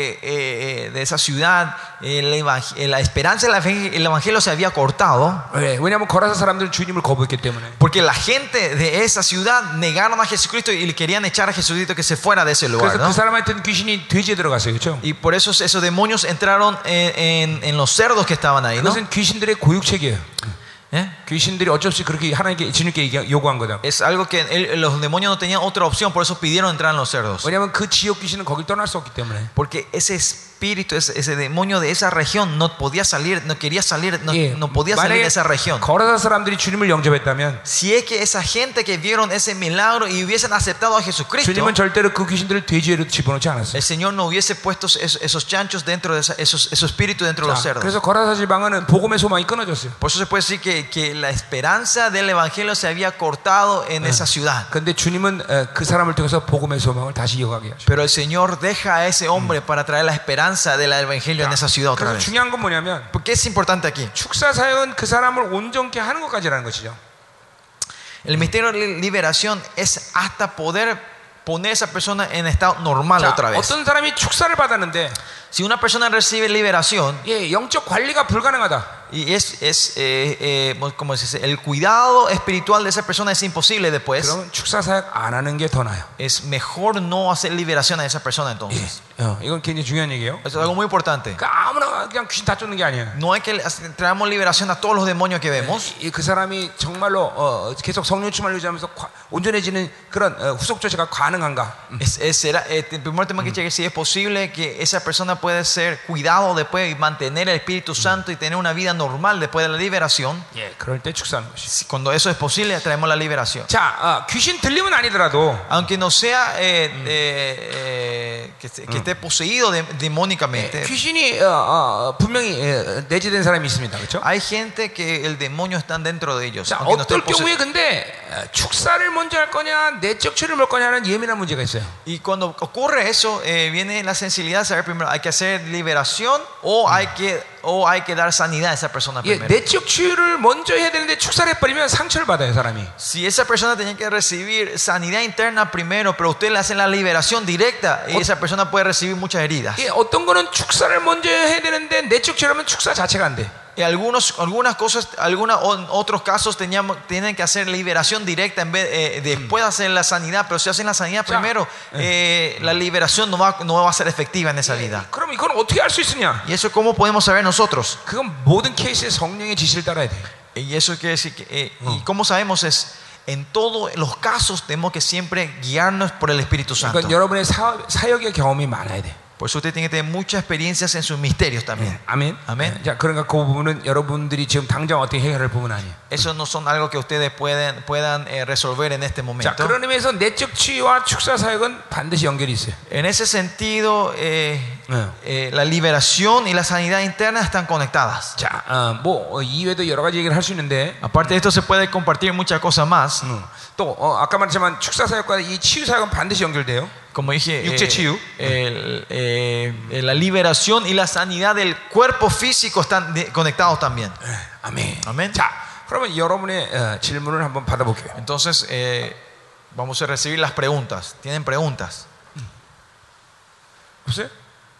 de esa ciudad, la esperanza del evangelio se había cortado. 네, 왜냐하면 거라사 사람들은 주님을 거부했기 때문에. Porque la gente de esa ciudad negaron a Jesucristo y le querían echar a Jesucristo que se fuera de ese lugar, 그래서 ¿no? 그 사람한테는 귀신이 돼지에 들어갔어요, 그렇죠? Y por eso esos demonios entraron en los cerdos que estaban ahí, ¿no? 그것은 귀신들의 고육책이에요. ¿Eh? 귀신들이 어쩔 수 없이 그렇게 하나님께 주님께 요구한 거다. Es algo que los demonios no tenían otra opción, por eso pidieron entrar en los cerdos. 왜냐하면 그 지역 귀신은 거길 떠날 수 없기 때문에. Porque ese espíritu, ese demonio de esa región no podía salir, no quería salir, no podía salir de esa región. 거라사 사람들이 주님을 영접했다면, Si es que esa gente que vieron ese milagro y hubiesen aceptado a Jesucristo, 주님은 절대로 그 귀신들을 돼지로 집어넣지 않았어요. el Señor no hubiese puesto esos chanchos dentro de esos espíritus dentro de los cerdos. 그래서 거라사 지방은 복음의 소망이 끊어졌어요. Por eso se puede decir que la esperanza del evangelio se había cortado en esa ciudad. 그런데 주님은 그 사람을 통해서 복음의 소망을 다시 이어가게 하죠. Pero el Señor deja a ese hombre para traer la esperanza del evangelio en esa ciudad otra 그래서 vez. 중요한 건 뭐냐면, ¿Por qué es importante aquí? 축사 사역은 그 사람을 온전케 하는 것까지라는 것이죠. El misterio de liberación es hasta poder poner a esa persona en estado normal 자, otra vez. 어떤 사람이 축사를 받았는데, Si una persona recibe liberación 영적 관리가 불가능하다. y como se dice, el cuidado espiritual de esa persona es imposible después, 그러면 축사 사역 안 하는 게 더 나아요. es mejor no hacer liberación a esa persona entonces. 이건 굉장히 중요한 얘기예요. Eso es algo muy importante. 그러니까 아무나 그냥 귀신 다 쫓는 게 아니에요. No es que traemos liberación a todos los demonios que vemos. 그 사람이 정말로 계속 성령 충만을 유지하면서 온전해지는 그런 후속 조치가 가능한가? El primer tema que cheque si es posible que esa persona puede ser cuidado después y mantener el Espíritu Santo y tener una vida normal después de la liberación. 그럴 때 축사하는 것이. Cuando eso es posible, traemos la liberación. 자, 귀신 들림은 아니더라도, Aunque no sea que esté poseído demónicamente, 귀신이 분명히 내재된 사람이 있습니다, 그렇죠? hay gente que el demonio está dentro de ellos. 자, Aunque no 어떨 esté 경우에 근데 축사를 먼저 할 거냐, 내적 처리를 할 거냐는 예민한 문제가 있어요. Y cuando ocurre eso, viene la sensibilidad de saber primero, ¿hay que hacer liberación o hay que dar sanidad a esa persona primero? 내적 치유를 먼저 해야 되는데 축사를 해버리면 상처를 받아요, 사람이. Si esa persona tenía que recibir sanidad interna primero, pero usted le hace la liberación directa, y esa persona puede recibir muchas heridas. 어떤 거는 축사를 먼저 해야 되는데 내적 치유하면 축사 자체가 안 돼. Y algunas cosas, otros casos tienen que hacer liberación directa en vez después de hacer la sanidad, pero si hacen la sanidad primero, la liberación no va a ser efectiva en esa vida. 그럼 이건 어떻게 할 수 있으냐? ¿Y eso cómo podemos saber nosotros? 그건 모든 케이스에 성령의 지시를 따라야 돼. Y eso quiere decir que, y cómo sabemos es en todos los casos tenemos que siempre guiarnos por el Espíritu Santo. 그러니까 여러분의 사역의 경험이 많아야 돼. Por eso usted tiene que tener muchas experiencias en sus misterios también. 아멘. 아멘. 자, 그러니까 그 부분은 여러분들이 지금 당장 어떻게 해결할 부분 아니에요. Eso no son algo que ustedes puedan resolver en este 자, momento. 그런 의미에서 내적 치유와 축사 사역은 반드시 연결이 있어요. En ese sentido, la liberación y la sanidad interna están conectadas. 자, 이외에도 여러 가지 얘기를 할 수 있는데, Aparte de esto se puede compartir muchas cosas más. 또 아까 말했지만 축사 사역과 이 치유 사역은 반드시 연결돼요. Como dije, 육체 치유. la liberación y la sanidad del cuerpo físico están conectados también. 아멘. 아멘. 자, 그러면 여러분의 질문을 한번 받아볼게요. Entonces, vamos a recibir las preguntas. ¿Tienen preguntas? 보세요.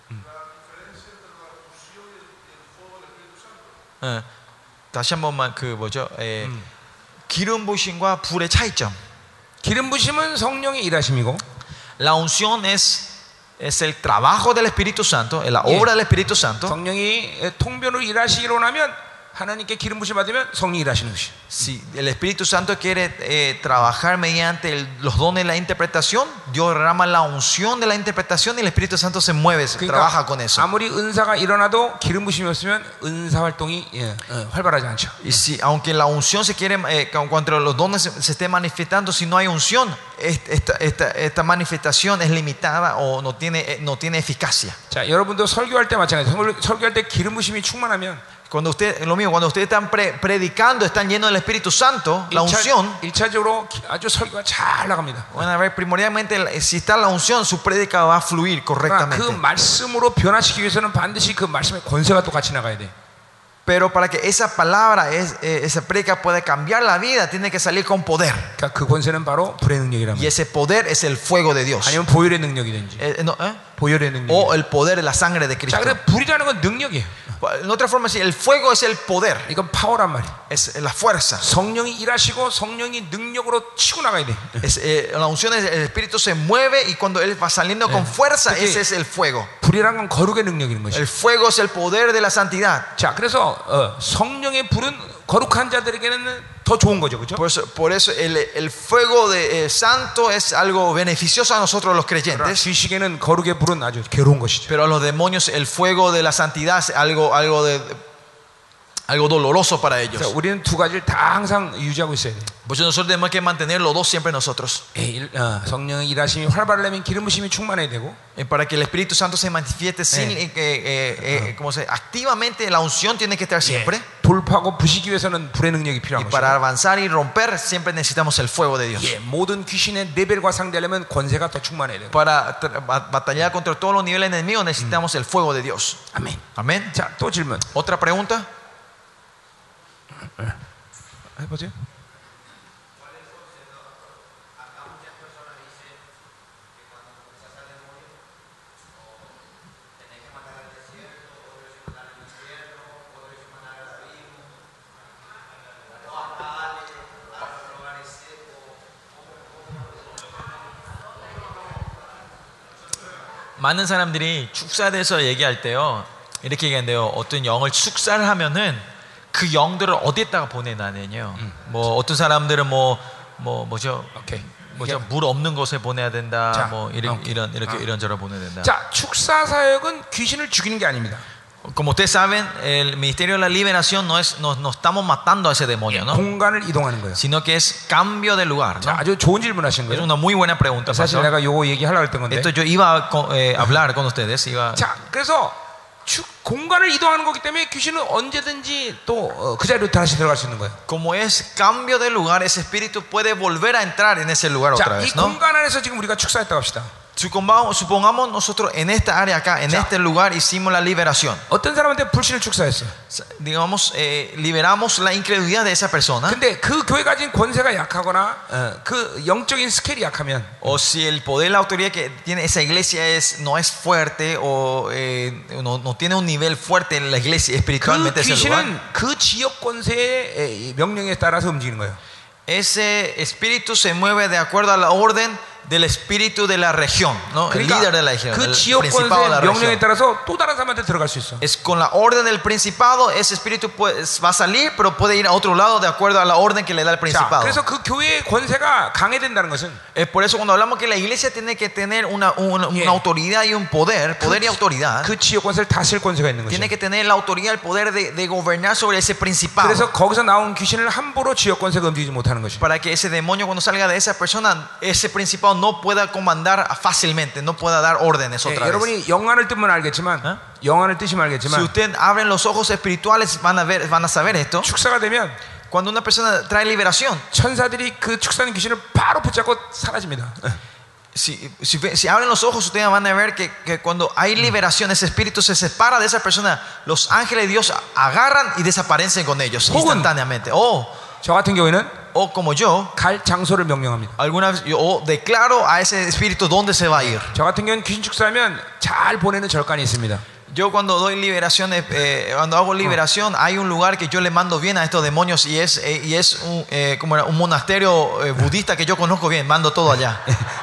다시 한번만 그 뭐죠? 기름 부심과 불의 차이점. 기름 부심은 성령의 일하심이고, La unción es el trabajo del Espíritu Santo, es la obra del Espíritu Santo. 성령이 통변으로 일하시기로 하면 하나님께 기름 부심 받으면 성령이 일하시는 것이. Si el Espíritu Santo quiere trabajar mediante los dones de la interpretación, Dios derrama la unción de la interpretación y el Espíritu Santo se mueve, trabaja con eso. 아무리 은사가 일어나도 기름 부심이 없으면 은사 활동이 활발하지 않죠. Y si, aunque la unción se quiere, cuando los dones se estén manifestando, si no hay unción, esta manifestación es limitada o no tiene eficacia. 자, 여러분도 설교할 때 마찬가지예요. 설교할 때 기름 부심이 충만하면, Cuando ustedes están predicando, están llenos del Espíritu Santo, la unción. 1차적으로 아주 설교가 잘 나갑니다. Bueno, a ver, primordialmente, si está la unción, su prédica va a fluir correctamente. 그 말씀으로 변화시키기 위해서는 반드시 그 말씀의 권세가 또 같이 나가야 돼. Pero para que esa palabra, esa prédica pueda cambiar la vida, tiene que salir con poder. 그러니까 그 권세는 바로 불의 능력이란 Y 말이에요. ese poder es el fuego de Dios. 아니면 보혈의 능력이든지. 보혈의 능력. O el poder de la sangre de 자, Cristo. 그래 불이라는 건 능력이에요. En otra forma, el fuego es el poder, 이건 파워란 말이에요. es la fuerza. 성령이 일하시고 성령이 능력으로 치고 나가야 돼. La unción es el Espíritu se mueve y cuando Él va saliendo con fuerza, ese es el fuego. 불이란 건 거룩의 능력인 것이죠. El fuego es el poder de la santidad. 자, 그래서 성령의 불은 거룩한 자들에게는 더 좋은 거죠, 그렇죠? Por eso el fuego de, santo es algo beneficioso a nosotros los creyentes. 귀신에게는 거룩의 불은 아주 괴로운 것이죠. Pero a los demonios el fuego de la santidad es algo doloroso para ellos. 그래서 우리는 두 가지를 다 항상 유지하고 있어야 돼요. Por eso nosotros tenemos que mantener los dos siempre nosotros. 성령의 일하심이 활발하려면 기름 부심이 충만해야 되고, Para que el Espíritu Santo se manifieste sin, como se, activamente la unción tiene que estar siempre. 돌파하고 부시기 위해서는 불의 능력이 필요한 Y para 것이고, avanzar y romper siempre necesitamos el fuego de Dios. 모든 귀신의 레벨과 상대하려면 권세가 더 충만해야 돼요. Para batallar contra todos los niveles enemigos necesitamos el fuego de Dios. 아멘. Amén. 자, 또 질문. Otra pregunta. 해보세요. 많은 사람들이 축사에 대해서 얘기할 때요 이렇게 얘기한대요. 어떤 영을 축사를 하면은 그 영들을 어디에다가 보내나는요. 뭐 어떤 사람들은 뭐죠? 오케이. 뭐죠? 물 없는 곳에 보내야 된다. 자, 뭐 이런저런 보내야 된다. 자, 축사 사역은 귀신을 죽이는 게 아닙니다. Como ustedes saben, el ministerio de la liberación no estamos matando a ese demonio, ¿no? 공간을 이동하는 거예요. Sino que es cambio de lugar, ¿no? 자, 아주 좋은 질문하신 Es 거예요. una muy buena pregunta, 사실 pastor. 내가 요거 얘기하려고 했던 건데. Esto yo iba a hablar con ustedes. 자, 그래서 공간을 이동하는 거기 때문에 귀신은 언제든지 또 그 자리로 다시 들어갈 수 있는 거예요. Como es cambio de lugar, ese espíritu puede volver a entrar en ese lugar otra 자, 이 vez, ¿no? 공간 안에서 지금 우리가 축사했다고 합시다. Supongamos nosotros en esta área acá, en este lugar hicimos la liberación. 어떤 사람한테 불신을 축사했어. Digamos, liberamos la incredulidad de esa persona. 근데 그 교회 가진 권세가 약하거나 그 영적인 스케일이 약하면, O si el poder, la autoridad que tiene esa iglesia no es fuerte o no tiene un nivel fuerte en la iglesia 그 espiritualmente ese lugar. 귀신은 그 지역 권세의 명령에 따라서 움직이는 거예요. Ese espíritu se mueve de acuerdo a la orden del espíritu de la región, ¿no? El líder de la región, 그 el 지역 principado de la 권세의 명령에 región. 따라서 또 다른 사람한테 들어갈 수 있어. Es con la orden del principado, ese espíritu va a salir, pero puede ir a otro lado de acuerdo a la orden que le da el 자, principado. 그래서 그 교회의 권세가 강해진다는 것은 Es por eso cuando hablamos que la iglesia tiene que tener una autoridad y un poder y autoridad, 그 지역 권세를 다스릴 권세가 있는 tiene 것이죠. que tener la autoridad, el poder de gobernar sobre ese principado. 그래서 거기서 나온 귀신을 함부로 지역 권세가 움직이지 못하는 것이죠. Para que ese demonio cuando salga de esa persona, ese principado no pueda comandar fácilmente, no pueda dar órdenes otra vez. 여러분이 영안을 뜨면 알겠지만, 영안을 뜨시면 Si 알겠지만, ustedes abren los ojos espirituales van a saber esto. 축사가 되면 Cuando una persona trae liberación, 천사들이 그 축사하는 귀신을 바로 붙잡고 사라집니다. si abren los ojos, ustedes van a ver que cuando hay liberación, ese espíritu se separa de esa persona. Los ángeles de Dios agarran y desaparecen con ellos instantáneamente. 저 같은 경우에는 O como yo, 갈 장소를 명령합니다. alguna vez yo declaro a ese espíritu dónde se va a ir. 저 같은 경우는 귀신 축사하면 잘 보내는 절간이 있습니다. Yo cuando doy liberación, cuando hago liberación, hay un lugar que yo le mando bien a estos demonios y es como un monasterio budista que yo conozco bien. Mando todo allá.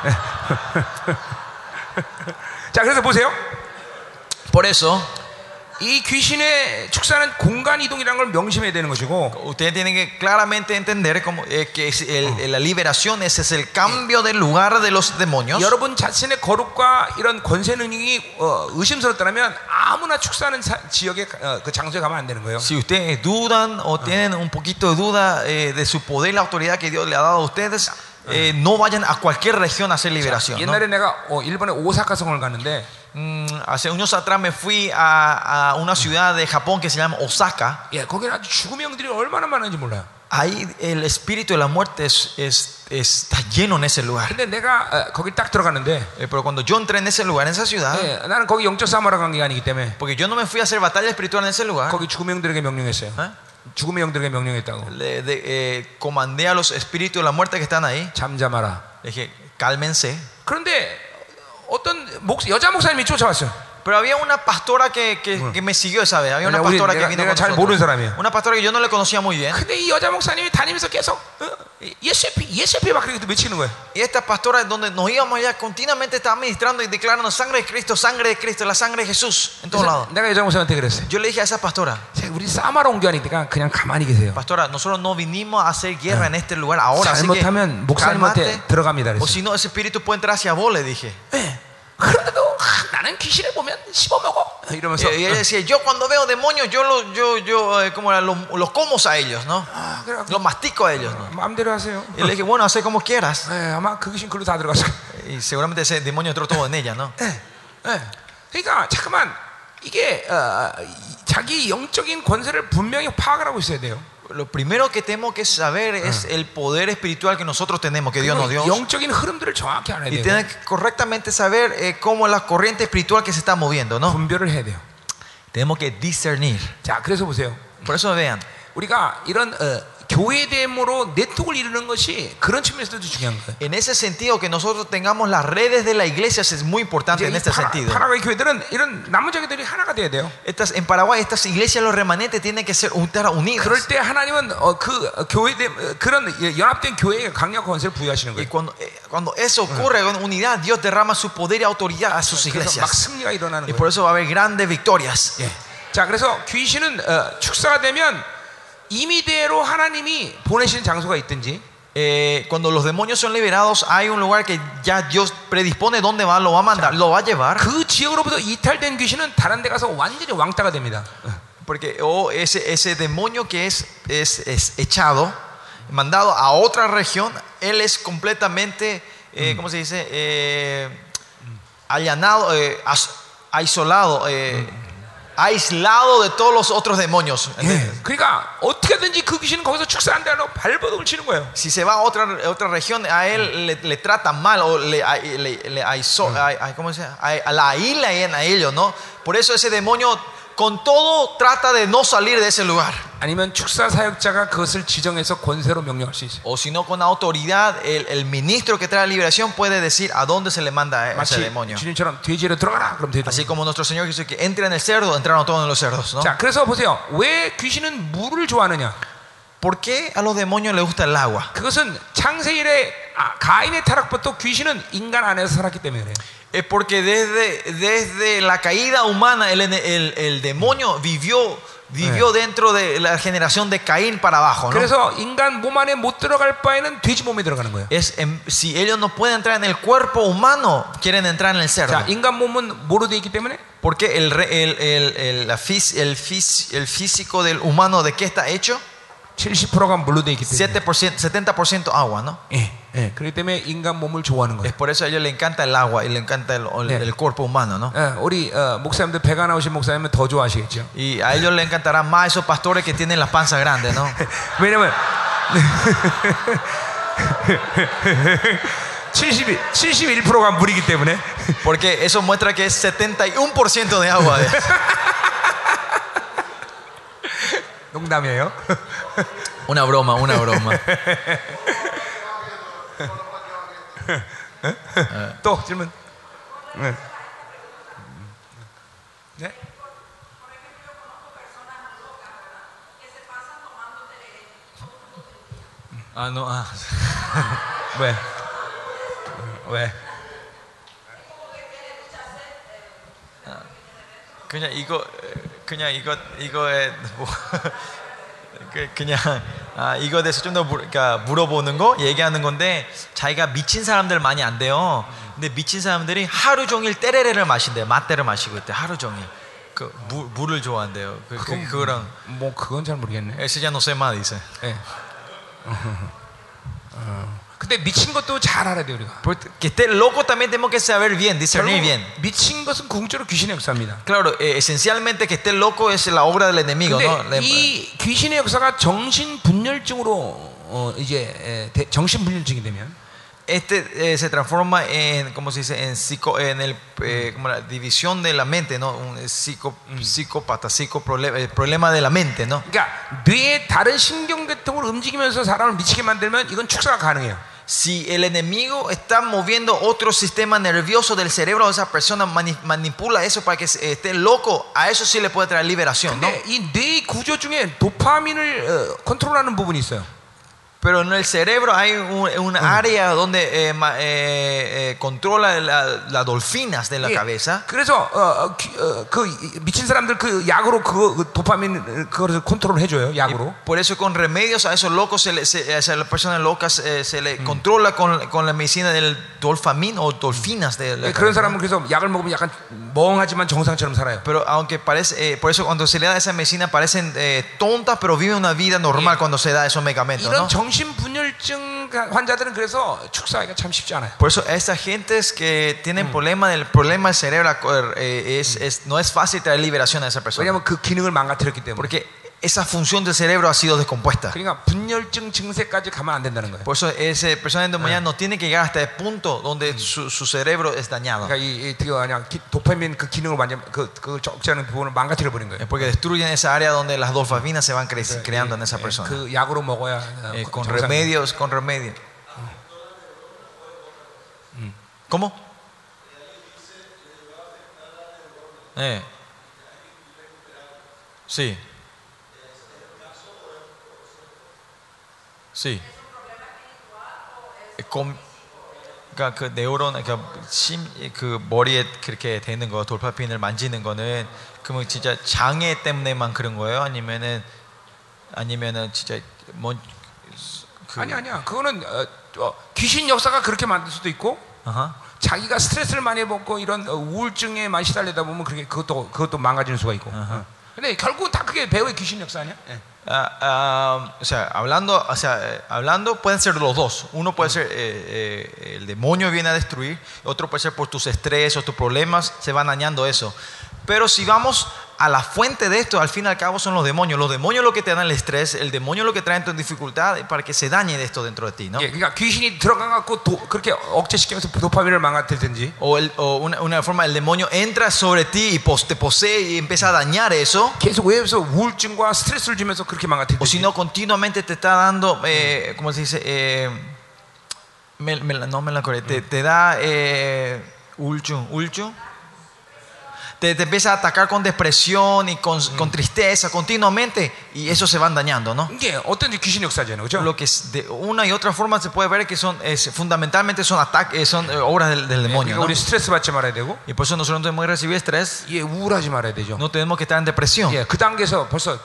자, 그래서 보세요. Por eso, 이 귀신의 축사는 공간 이동이라는 걸 명심해야 되는 것이고, ustedes tienen que claramente entender que la liberación ese es el cambio del lugar de los demonios. 여러분 자신의 거룩과 이런 권세 능력이 의심스럽다면 아무나 축사하는 지역에 그 장소에 가면 안 되는 거예요. Si ustedes dudan o tienen un poquito de duda de su poder y la autoridad que Dios le ha dado a ustedes, no vayan a cualquier región a hacer liberación, ¿no? 옛날에 내가 일본의 오사카 성을 갔는데, hace unos atrás me fui a una ciudad de Japón que se llama Osaka. 거기는 아주 죽음의 영들이 얼마나 많은지 몰라요. Ahí el espíritu de la muerte está lleno en ese lugar. 근데 내가 거기 딱 들어갔는데, Pero cuando yo entré en ese lugar, en esa ciudad, 나는 거기 영적 싸움하러 간 게 아니기 때문에 porque yo no me fui a hacer batalla espiritual en ese lugar, 거기 죽음의 영들에게 명령했어요. 죽음의 영들에게 명령했다고. comandé a los espíritus de la muerte que están ahí. 잠잠하라. Le dije, cálmense. 그런데 어떤 여자 목사님이 쫓아왔어요. Pero había una pastora que me siguió esa vez. Había una 우리 pastora que vino 내가 con 잘 모르는 nosotros. 사람이야. Una pastora que yo no le conocía muy bien. 근데 이 여자 목사님이 다니면서 계속 예수의 피 막 그렇게 외치는 거예요. Y esta pastora, donde nos íbamos allá, continuamente estaba ministrando y declarando sangre de Cristo, la sangre de Jesús, en todos lados. 내가 여자 목사님한테 그랬어요. Yo le dije a esa pastora, 우리 싸마러 온 게 아니니까 그냥 가만히 계세요. pastora, nosotros no vinimos a hacer guerra en este lugar ahora, así que 잘못하면 목사님한테 calmate, 들어갑니다. o 그랬어요. si no, ese espíritu puede entrar hacia vos, le dije. 그런데도 나는 귀신을 보면 씹어먹어 이러면서 Y ella decía, yo cuando veo demonios, ¿cómo era? Los como a ellos, ¿no? Los mastico a ellos, ¿no? 마음대로 하세요. Y le dije, bueno, haz como quieras. 아마 그 귀신 글로 다 들어갔어. Y seguramente ese demonio entró todo en ella, ¿no? 그러니까 잠깐만 이게 자기 영적인 권세를 분명히 파악을 하고 있어야 돼요. Lo primero que tenemos que saber es el poder espiritual que nosotros tenemos, que Dios nos dio. 영적인 흐름들을 정확히 알아야 Y 돼요. tener que correctamente saber cómo la corriente espiritual que se está moviendo, ¿no? 분별을 해야 돼요. Tenemos que discernir. 자, 그래서 보세요. Por eso vean, 우리가 이런 교회됨으로 네트워크를 이루는 것이 그런 측면에서도 중요한 거예요. en ese sentido que nosotros tengamos las redes de la iglesia es muy importante en este sentido. 파라과이 교회들은 이런 남은 자기들이 하나가 돼야 돼요. En Paraguay estas iglesias los remanentes tienen que ser unidas. 그럴 때 하나님은 그 교회됨 그런 연합된 교회에 강력한 권세를 부여하시는 Y 거예요. cuando eso ocurre con unidad, Dios derrama su poder y autoridad a sus 그래서 막 iglesias. 승리가 일어나는 Y 거예요. por eso va a haber grandes victorias. 예. 자, 그래서 귀신은 축사가 되면 임의대로 하나님이 보내시는 장소가 있든지 Cuando los demonios son liberados, hay un lugar que ya Dios predispone dónde va, lo va a mandar, lo va a llevar. 그 지역으로부터 이탈된 귀신은 다른 데 가서 완전히 왕따가 됩니다. Porque ese demonio que es echado, mandado a otra región, él es completamente, ¿cómo se dice? Allanado, aislado, aislado de todos los otros demonios. 그러니까 어떻게든지 그 귀신은 거기서 축사한다 하고 발버둥을 치는 거예요. Si se va a otra región, a él le tratan mal o ¿cómo se llama? La aíslan a ellos, ¿no? Por eso ese demonio con todo trata de no salir de ese lugar. 아니면 축사 사역자가 그것을 지정해서 권세로 명령할 수 있어요. O si no, con autoridad, el ministro que trae la liberación puede decir a dónde se le manda a ese 마치 demonio. 주님처럼 돼지로 들어가라 그럼 돼지. Así como nuestro Señor dice que entra en el cerdo, entraron todos en los cerdos, ¿no? 자, 그래서 보세요. 왜 귀신은 물을 좋아하느냐? ¿Por qué a los demonios les gusta el agua? 그것은 창세일에 가인의 타락부터 귀신은 인간 안에서 살았기 때문에 그래요. Es porque desde la caída humana el demonio vivió dentro de la generación de Caín para abajo, ¿no? 그래서 인간 몸 안에 못 들어갈 바에는 돼지 몸에 들어가는 거예요. Si ellos no pueden entrar en el cuerpo humano, quieren entrar en el cerdo. 자, 인간 몸은 뭐로 돼 있기 때문에? Porque el físico del humano, ¿de qué está hecho? 70%가 물로 돼 있기 때문에. 70% agua, ¿no? 그렇기 때문에 인간 몸을 좋아하는 Es 거예요. por eso a ellos les encanta el agua y les encanta el cuerpo humano, ¿no? 우리 목사님들 배가 나오신 목사님은 더 좋아하시겠죠. Y a ellos les encantará más esos pastores que tienen las panzas grandes, ¿no? 왜냐면 71%가 물이기 때문에. Porque eso muestra que es 71% de agua. 농담이에요. Una broma. 또 질문. 네. 왜? 그냥 이거 이거에 대해서 좀 더 물어보는 거, 얘기하는 건데, 자기가 미친 사람들 많이 안 돼요. 근데 미친 사람들이 하루 종일 때레레를 마신대요. 맛대를 마시고 있대. 하루 종일. 물을 좋아한대요. 그거랑 뭐 그건 잘 모르겠네. Ese ya no sé más, dice. 근데 미친 것도 잘 알아야 돼요, 우리가. Que esté loco también tenemos que saber bien, discernir bien. 미친 것은 궁극적으로 귀신의 역사입니다. Claro, esencialmente que esté loco es la obra del enemigo, ¿no? 근데 이 귀신의 역사가 정신분열증으로 정신분열증이 되면 se transforma en, ¿cómo se dice? Como la división de la mente, ¿no? Un psicópata, problema de la mente, ¿no? 그러니까 뇌의 다른 신경계통을 움직이면서 사람을 미치게 만들면 이건 축사가 가능해요. Si el enemigo está moviendo otro sistema nervioso del cerebro de esa persona, manipula eso para que esté loco, a eso sí le puede traer liberación, ¿no? 근데 이 뇌 구조 중에 도파민을 컨트롤하는 부분이 있어요. Pero en el cerebro hay un área donde controla las dolfinas de la cabeza. 그래서 그 미친 사람들 그 약으로 그 도파민 그거를 컨트롤 해줘요. 약으로. Por eso con remedios a esos locos, a las personas locas se le controla con la medicina del dolfamín o dolfinas de la 그런 cabeza. 사람은 그래서 약을 먹으면 약간 멍하지만 정상처럼 살아요. Pero aunque parece, por eso cuando se le da esa medicina parecen tontas, pero viven una vida normal cuando se da esos medicamentos, 이런 ¿no? 정신분열증 환자들은 그래서 축사하기가 참 쉽지 않아요. Por eso estas gentes que tienen problema del cerebro no es fácil traer liberación a esa persona. 왜냐하면 그 기능을 망가뜨렸기 때문에. Porque esa función del cerebro ha sido descompuesta. 그러니까 분열증 증세까지 가면 안 된다는 거예요. Por eso esa persona endemoniada no tiene que llegar hasta el punto donde su cerebro es dañado. 그러니까 이 그냥 도파민 그 기능을 완전 그 적재하는 부분을 망가뜨려 버린 거예요. Es porque destruyen esa área donde las dopaminas se van creando en esa persona. 그 약으로 먹어야 Con remedios. ¿Cómo? Sí. Sí. 그러니까 그 네오론, 그러니까 그 머리에 그렇게 되는 거, 돌파핀을 만지는 거는 그러면 진짜 장애 때문에만 그런 거예요? 아니면은 진짜 뭔 아니야. 그거는 귀신 역사가 그렇게 만들 수도 있고. 자기가 스트레스를 많이 받고 이런 우울증에 많이 시달리다 보면 그것도 망가지는 수가 있고. 근데 결국 다 그게 배우의 귀신 역사 아니야? hablando pueden ser los dos. Uno puede ser el demonio viene a destruir, otro puede ser por tus estrés o tus problemas se van dañando eso. Pero si vamos a la fuente de esto, al fin y al cabo son los demonios. Los demonios lo que te dan el estrés, el demonio lo que traen tu dificultad para que se dañe de esto dentro de ti, ¿no? 그러니까 귀신이 들어가 갖고 그렇게 억제시키면서 도파민을 망가뜨리든지. O una forma el demonio entra sobre ti y te posee y empieza a dañar eso. 계속 외부에서 우울증과 스트레스를 주면서 그렇게 망가뜨리든지. O si no continuamente te está dando, ¿cómo se dice? No me la acuerdo. Te da ulchu. Te empieza a atacar con depresión y con tristeza continuamente y eso se van dañando, ¿no? 이게 어떤지 귀신 역사잖아요, 그렇죠? Lo que de una y otra forma se puede ver que fundamentalmente son ataques, son obras del demonio, 그러니까 ¿no? 우리 스트레스 받지 말아야 되고. Y por eso nosotros no tenemos que recibir estrés. 예, 우울하지 말아야 되죠. No tenemos que estar en depresión. 예, 그 단계에서 벌써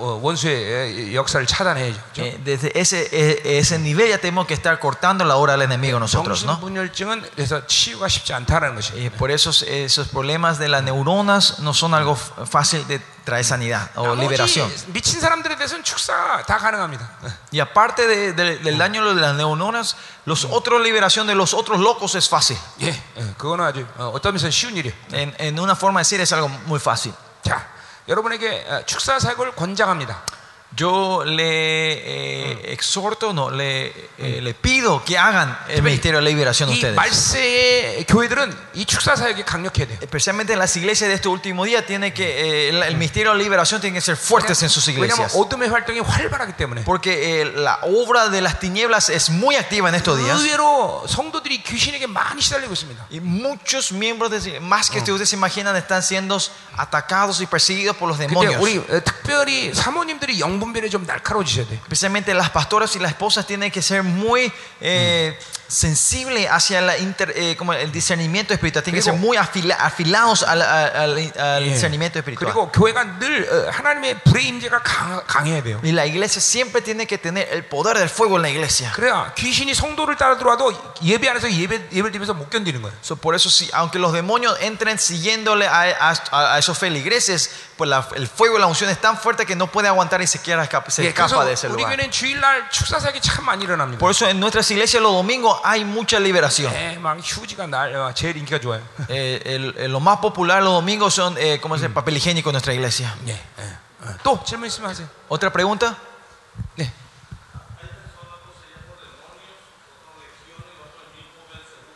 원수의 역사를 차단해야죠. Desde ese nivel ya tenemos que estar cortando la obra del enemigo nosotros, ¿no? 정신분열증은 그래서 치유가 쉽지 않다는 것이에요. Por eso esos problemas de las neuronas no son algo fácil de traer sanidad o liberación. 미친 사람들에 대해서는 축사 다 가능합니다. Y aparte del daño de las neuronas, los otros liberación de los otros locos es fácil. 예, 그거는 아주 어떤 면에서 쉬운 일이에요. En una forma de decir es algo muy fácil. 자, 여러분에게 축사 사역을 권장합니다. Yo le exhorto, le pido que hagan el ministerio de la liberación 이 ustedes. 말세의 교회들은 이 축사 사역이 강력해야 돼요. Especialmente en las iglesias de este último día tiene que el ministerio de la liberación tiene que ser fuertes en sus 왜냐하면 iglesias. 어둠의 활동이 활발하기 때문에. Porque la obra de las tinieblas es muy activa en estos días. 의외로 성도들이 귀신에게 많이 시달리고 있습니다. Y muchos miembros, más que ustedes se imaginan, están siendo atacados y perseguidos por los 근데 demonios. 우리 특별히 사모님들이 영분별에 좀 날카로워지셔야 돼요. Especialmente las pastoras y las esposas tienen que ser muy sensibles hacia como el discernimiento espiritual. Tienen que ser muy afilados al discernimiento espiritual. 그리고 교회가 늘 하나님의 불의 임재가 강해야 돼요. Y la iglesia siempre tiene que tener el poder del fuego en la iglesia. 그래야 귀신이 성도를 따라 들어와도 예배 안에서 예배를 드리면서 못 견디는 거예요. Por eso, aunque los demonios entren siguiéndole a esos feligreses, pues el fuego y la unción es tan fuerte que no puede aguantar y se escapa de ese 우리 lugar. 교회는 주일날 축사 사역이 참 많이 일어납니다. Por eso en nuestras iglesias los domingos hay mucha liberación. 막 휴지가 제일 인기가 좋아요. Lo más popular los domingos son como es el papel higiénico en nuestra iglesia. 또 질문 있으면 하세요. ¿Otra pregunta? 네.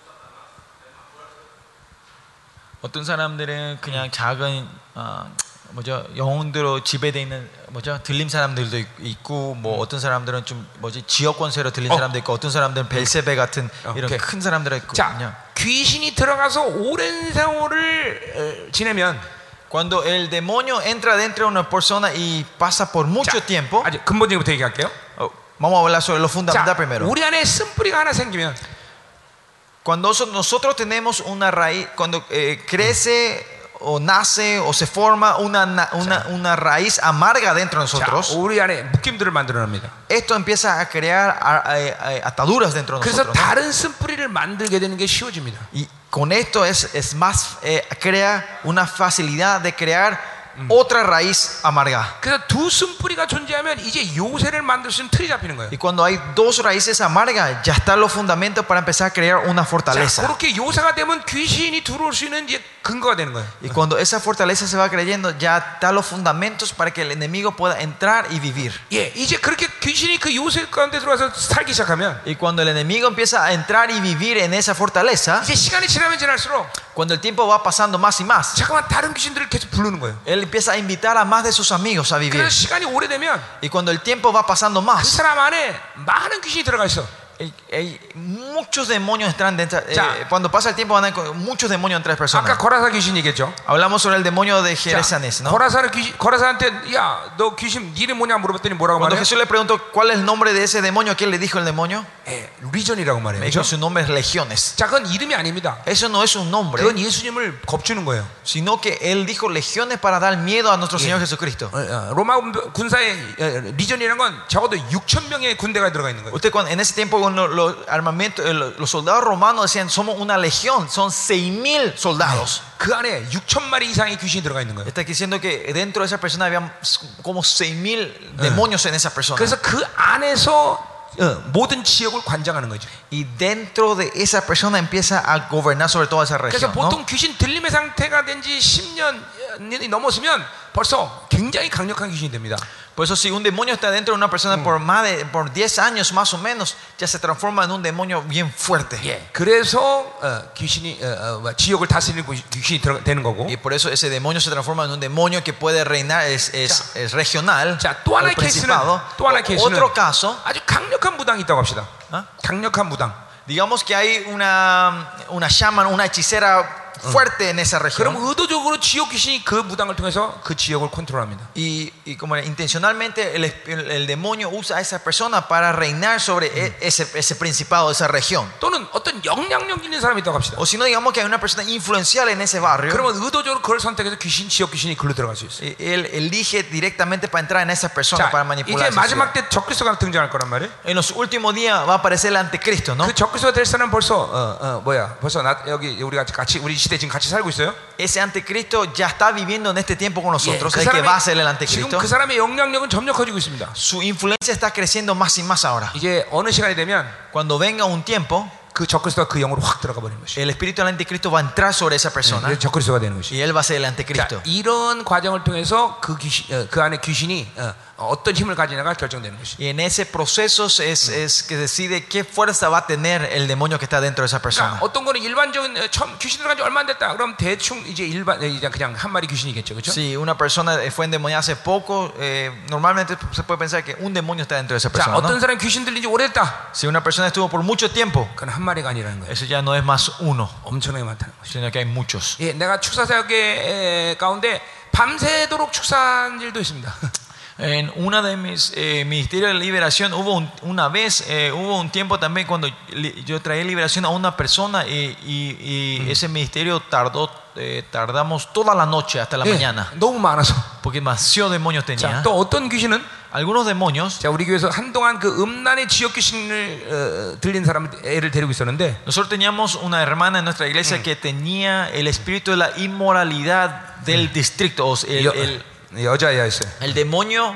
어떤 사람들은 그냥 작은 뭐죠? 영혼대로 지배되어 있는 뭐죠? 들림 사람들도 있고 뭐 어떤 사람들은 좀 뭐지? 지역권세로 들린 사람도 있고 어떤 사람들은 벨세베 같은 이런 오케이. 큰 사람들이 있거든요. 자, 귀신이 들어가서 오랜 세월을 지내면 Cuando el demonio entra dentro de una persona y pasa por mucho tiempo, 아주 근본적부터 얘기할게요. vamos a hablar sobre lo fundamental 자, primero. 우리 안에 쓴뿌리가 하나 생기면 Cuando nosotros tenemos una raíz, cuando crece o nace o se forma una raíz amarga dentro de 자, nosotros, 우리 안에 묶임들을 만들어냅니다. esto empieza a crear ataduras dentro de 그래서 nosotros, ¿no? 다른 쓴뿌리를 만들게 되는 게 쉬워집니다. Y con esto es más, crea una facilidad de crear otra raíz amarga. 그래서 두 쓴뿌리가 존재하면 이제 요새를 만들 수 있는 틀이 잡히는 거예요. Y cuando hay dos raíces amargas, ya están los fundamentos para empezar a crear una 자, fortaleza. 그렇게 요새가 되면 귀신이 들어올 수 있는 이제 근거가 되는 거예요. Y cuando esa fortaleza se va creyendo, ya están los fundamentos para que el enemigo pueda entrar y vivir. 예, 이제 그렇게 귀신이 그 요새 가운데 들어와서 살기 시작하면 Y cuando el enemigo empieza a entrar y vivir en esa fortaleza, 이제 시간이 지나면 지날수록 cuando el tiempo va pasando más y más, 잠깐만 다른 귀신들을 계속 부르는 거예요. él empieza a invitar a más de sus amigos a vivir. 그래서 시간이 오래되면 Y cuando el tiempo va pasando 그 más, 사람 안에 많은 귀신이 들어가 있어. muchos demonios entran dentro. Ya. Cuando pasa el tiempo, van a muchos demonios entre las 아까 personas. 거라사 귀신 얘기했죠. Hablamos sobre el demonio de 자, Geresanes, ¿no? 거라사한테 야, 너 귀신 네 이름 뭐냐 물어봤더니 뭐라고 Cuando 말해? Jesús le preguntó cuál es el nombre de ese demonio, ¿qué le dijo el demonio? 예, 리전이라고 말해요. Me dijo 그렇죠? su nombre es Legiones. 자, 그건 이름이 아닙니다. Eso no es un nombre, 그건 예수님을 겁주는 거예요. sino que él dijo legiones para dar miedo a nuestro Señor Jesucristo. 로마 군사의 리전이라는 건 적어도 6천 명의 군대가 들어가 있는 거예요. Usted en ese tiempo con los soldados romanos decían somos una legión, son 6,000 soldados. 그 안에 6천 마리 이상의 귀신이 들어가 있는 거예요. Está diciendo que dentro de esa persona había como 6,000 demonios en esa persona. 그래서 그 안에서 모든 지역을 관장하는 거죠. Y dentro de esa persona empieza a gobernar sobre toda esa 그래서 región, 보통 ¿no? 귀신 들림의 상태가 된 지 10년이 넘었으면 벌써 굉장히 강력한 귀신이 됩니다. Por eso si un demonio está dentro de una persona por 10 años más o menos, ya se transforma en un demonio bien fuerte. 예, 그래서 귀신이 지역을 다스리는 귀신이 되는 거고. Y por eso ese demonio se transforma en un demonio que puede reinar, es regional. 자, 또 하나의 케이스는 Otro caso, 아주 강력한 무당이 있다고 합시다. ¿ah? 강력한 무당. Digamos que hay una shaman, una hechicera fuerte en esa región. 그럼 의도적으로 지역 귀신이 그 무당을 통해서 그 지역을 컨트롤합니다. Y como intencionalmente el demonio usa a esa persona para reinar sobre ese principado, esa región. 또는 어떤 영향력 있는 사람이 있다고 합시다. O si no, digamos que hay una persona influencial en ese barrio. 그러면 의도적으로 그걸 선택해서 지역 귀신이 글로 들어갈 수 있어요. Él elige directamente para entrar en esa persona, 자, para manipular. 이제 마지막 때 적그리스도가 등장할 거란 말이에요. En los últimos días va a aparecer el anticristo, ¿no? 그 적그리스도가 될 사람은 벌써 벌써 우리 시대 지금 같이 살고 있어요. Ese anticristo ya está viviendo en este tiempo con nosotros. 그 El que va a ser el 지금 anticristo. 그 사람의 영향력은 점점 커지고 있습니다. Su influencia está creciendo más y más ahora. 이제 어느 시간이 되면 Cuando venga un tiempo, 그 적그리스도가 그 영으로 확 들어가 버리는 것이. el espíritu del anticristo va a entrar sobre esa persona 그래서 적그리스도가 되는 것이. y él va a ser el 자, anticristo. 이런 과정을 통해서 그 안에 귀신이 어떤 힘을 가지냐가 결정되는 것이. Y en ese proceso es que decide qué fuerza va a tener el demonio que está dentro de esa persona. 그러니까 어떤 거는 일반적인 귀신 들어간 지 얼마 안 됐다. 그럼 대충 이제 그냥 한 마리 귀신이겠죠, 그렇죠? Si una persona fue endemoniada hace poco, normalmente se puede pensar que un demonio está dentro de esa 자, persona, 어떤 ¿no? 사람 귀신 들린 지 오래됐다. Si una persona estuvo por mucho tiempo, 그건 한 마리가 아니라는 거예요. eso ya no es más uno, 엄청나게 많다는 것이. sino que hay muchos. 예, 내가 축사사역의 가운데 밤새도록 축사한 일도 있습니다. En una de mis ministerios de liberación hubo hubo un tiempo también cuando yo traía liberación a una persona y ese ministerio tardamos toda la noche hasta la mañana 너무 많아서. porque demasiados demonios 자, tenía. 또 어떤 귀신은 Algunos demonios, 자, 우리 교회에서 한동안 그 음란의 지역 귀신을 들린 사람 애를 데리고 있었는데 nosotros teníamos una hermana en nuestra iglesia que tenía el espíritu de la inmoralidad del distrito, o sea, 여자애였어요. el demonio,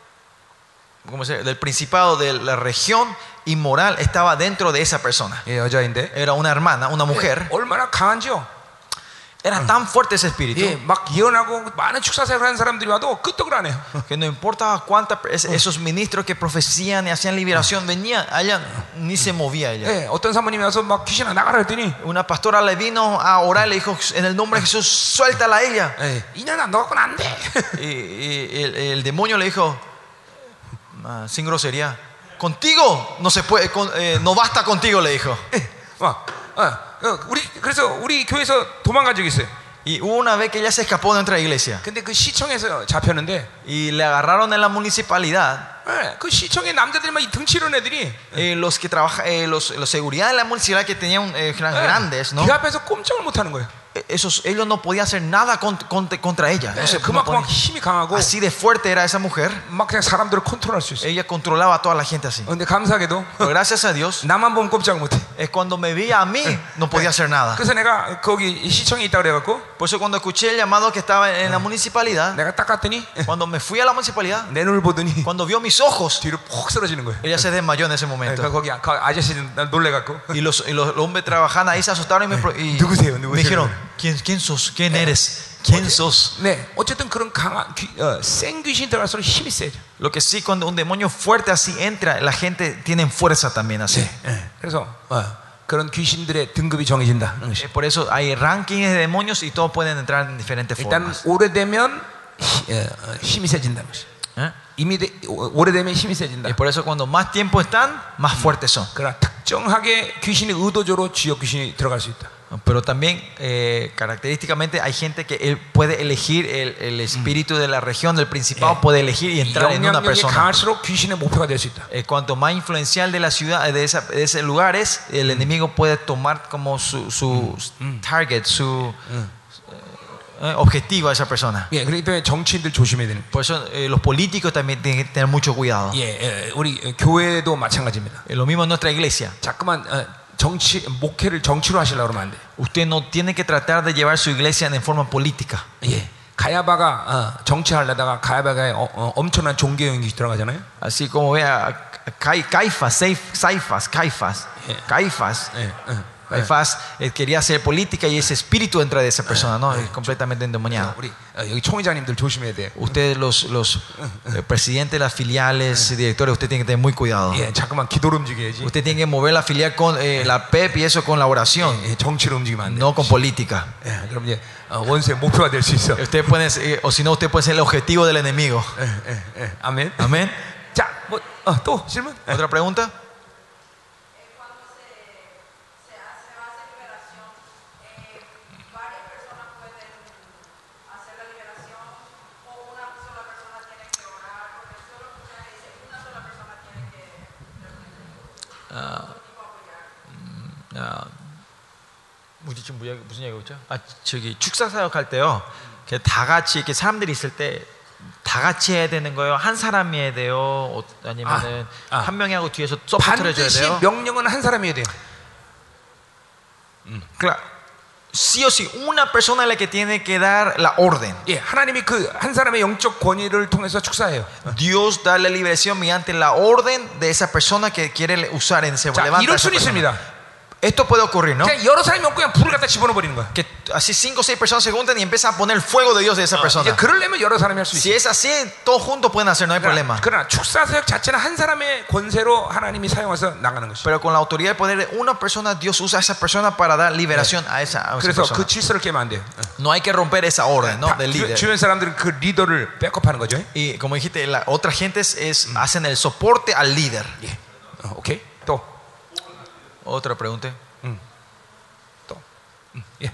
¿cómo se llama? Del principado de la región inmoral estaba dentro de esa persona. 예, 여자인데 Era una hermana, una mujer. 얼마나 강한지요? Era tan fuerte ese espíritu 예, 막 예언하고 많은 축사사역을 하는 사람들이 와도 끄떡을 안 해요. que no importaba cuántas esos ministros que profecían y hacían liberación venían, allá ni se movía ella. 예, 어떤 사모님이 와서 막 귀신아 나가라 했더니 Una pastora le vino a orar y le dijo, en el nombre de Jesús, suéltala a ella. 예, 이년아 너 갖고는 안 돼. Y el demonio le dijo, sin grosería, contigo no se puede, no basta contigo, le dijo. 그래서 우리 교회에서 도망간 적이 있어요. Y hubo una vez que ella se escapó de nuestra iglesia 근데 그 시청에서 잡혔는데 y le agarraron en la municipalidad. 그 시청의 남자들이 막 이 등치 이런 애들이 Los que trabajan, los seguridad de la municipalidad que tenían grandes, ¿no? 그 앞에서 꼼짝을 못 하는 거예요. Ellos no podían hacer nada contra ella. 그만큼 막 힘이 강하고 Así de fuerte era esa mujer. 막 그냥 사람들을 컨트롤할 수 있어요. Ella controlaba a toda la gente así. 근데 감사하게도 Pero gracias a Dios, 나만 보면 꼼짝을 못 해. es cuando me veía a mí, no podía hacer nada. 그래서 내가 거기 시청에 있다 그래 갖고 Por eso cuando escuché el llamado que estaba en la municipalidad, 내가 딱 갔더니 cuando me fui a la municipalidad, 내 눈을 보더니 cuando vio mis ojos, 뒤로 푹 쓰러지는 거예요. ella se desmayó en ese momento. 그러니까 거기 아저씨들 놀래 갖고 Y los hombres trabajando ahí se asustaron y 누구세요? me dijeron, ¿quién sos? ¿Quién eres? ¿Quién sos? 네, 어쨌든 그런 강한 센 귀신이 들어갈수록 힘이 세죠. Lo que sí, cuando un demonio fuerte así entra, la gente tiene fuerza también así. 그래서 그런 귀신들의 등급이 정해진다. Por eso hay rankings de demonios y todos pueden entrar en diferentes 일단 formas. 오래되면 힘이 세진다는 것이. 오래되면 힘이 세진다. Y por eso cuando más tiempo están, más fuertes son. 그러나 특정하게 귀신이 의도적으로 지역 귀신이 들어갈 수 있다. Pero también característicamente hay gente que él puede elegir el espíritu de la región, del principado, puede elegir y entrar en una 영향력이 persona. 강할수록 귀신의 목표가 될 수 있다. Cuanto más influencial de la ciudad, de ese lugar es, el enemigo puede tomar como su target, su objetivo a esa persona. 예, 그렇기 때문에 정치인들 조심해야 되는. Por eso los políticos también tienen que tener mucho cuidado. 예, 우리 교회도 마찬가지입니다. Lo mismo en nuestra iglesia. 자꾸만 목회를 정치로 하시려고 그러면 안 돼. Usted no tiene que tratar de llevar su iglesia en forma política. 예, 가야바가 정치하려다가 가야바가 엄청난 종교 영역이 들어가잖아요. Así como vea Caifás, quería hacer política y ese espíritu entra de esa persona, ¿no? Es completamente endemoniado. 우리 여기 총회장님들 조심해야 돼. Ustedes los presidentes de las filiales, directores, usted tiene que tener muy cuidado. 예, 자꾸만 기도로 움직여야지. Usted tiene que mover la filial con la PEP y eso con la oración, 예, 정치로 움직이면 안 돼. no con política. 예, 그럼 이제 원수의 목표가 될 수 있어. Usted puede, o si no, usted puede ser el objetivo del enemigo. 아멘. Amén. 자, 또 질문? ¿Otra pregunta? 무슨 얘기가 있죠? 저기 축사 사역할 때요. 다 같이 이렇게 사람들이 있을 때 다 같이 해야 되는 거예요? 한 사람이 해야 돼요? 아니면은 한 명이 하고 뒤에서 서포트를 해줘야 반드시 돼요? 명령은 한 사람이 해야 돼요. Claro. Sí o sí, una persona es la que tiene que dar la orden. 예, 하나님이 그 한 사람의 영적 권위를 통해서 축사해요. Dios da la liberación mediante la orden de esa persona que quiere usar en ese 자, levanta 이럴 esa 수는 persona. 있습니다. Esto puede ocurrir, ¿no? 그냥 여러 사람이 없고 그냥 불을 갖다 집어넣어버리는 거야. Que así 5 o 6 personas se juntan y empiezan a poner el fuego de Dios de esa persona. 이제 그러려면 여러 사람이 할 수 Si 있어. es así, todos juntos pueden hacer, no hay problema. 그러나 축사 사역 자체는 한 사람의 권세로 하나님이 사용해서 나가는 것이. Pero con la autoridad y poder de una persona, Dios usa a esa persona para dar liberación a esa 그래서 persona. 그 질서를 깨면 안 돼요. No hay que romper esa orden, ¿no? Del líder. 주변 사람들은 그 리더를 백업하는 거죠. Y como dijiste, la otra gente hacen el soporte al líder. 예. 오케이. 또. Otra pregunta. 예.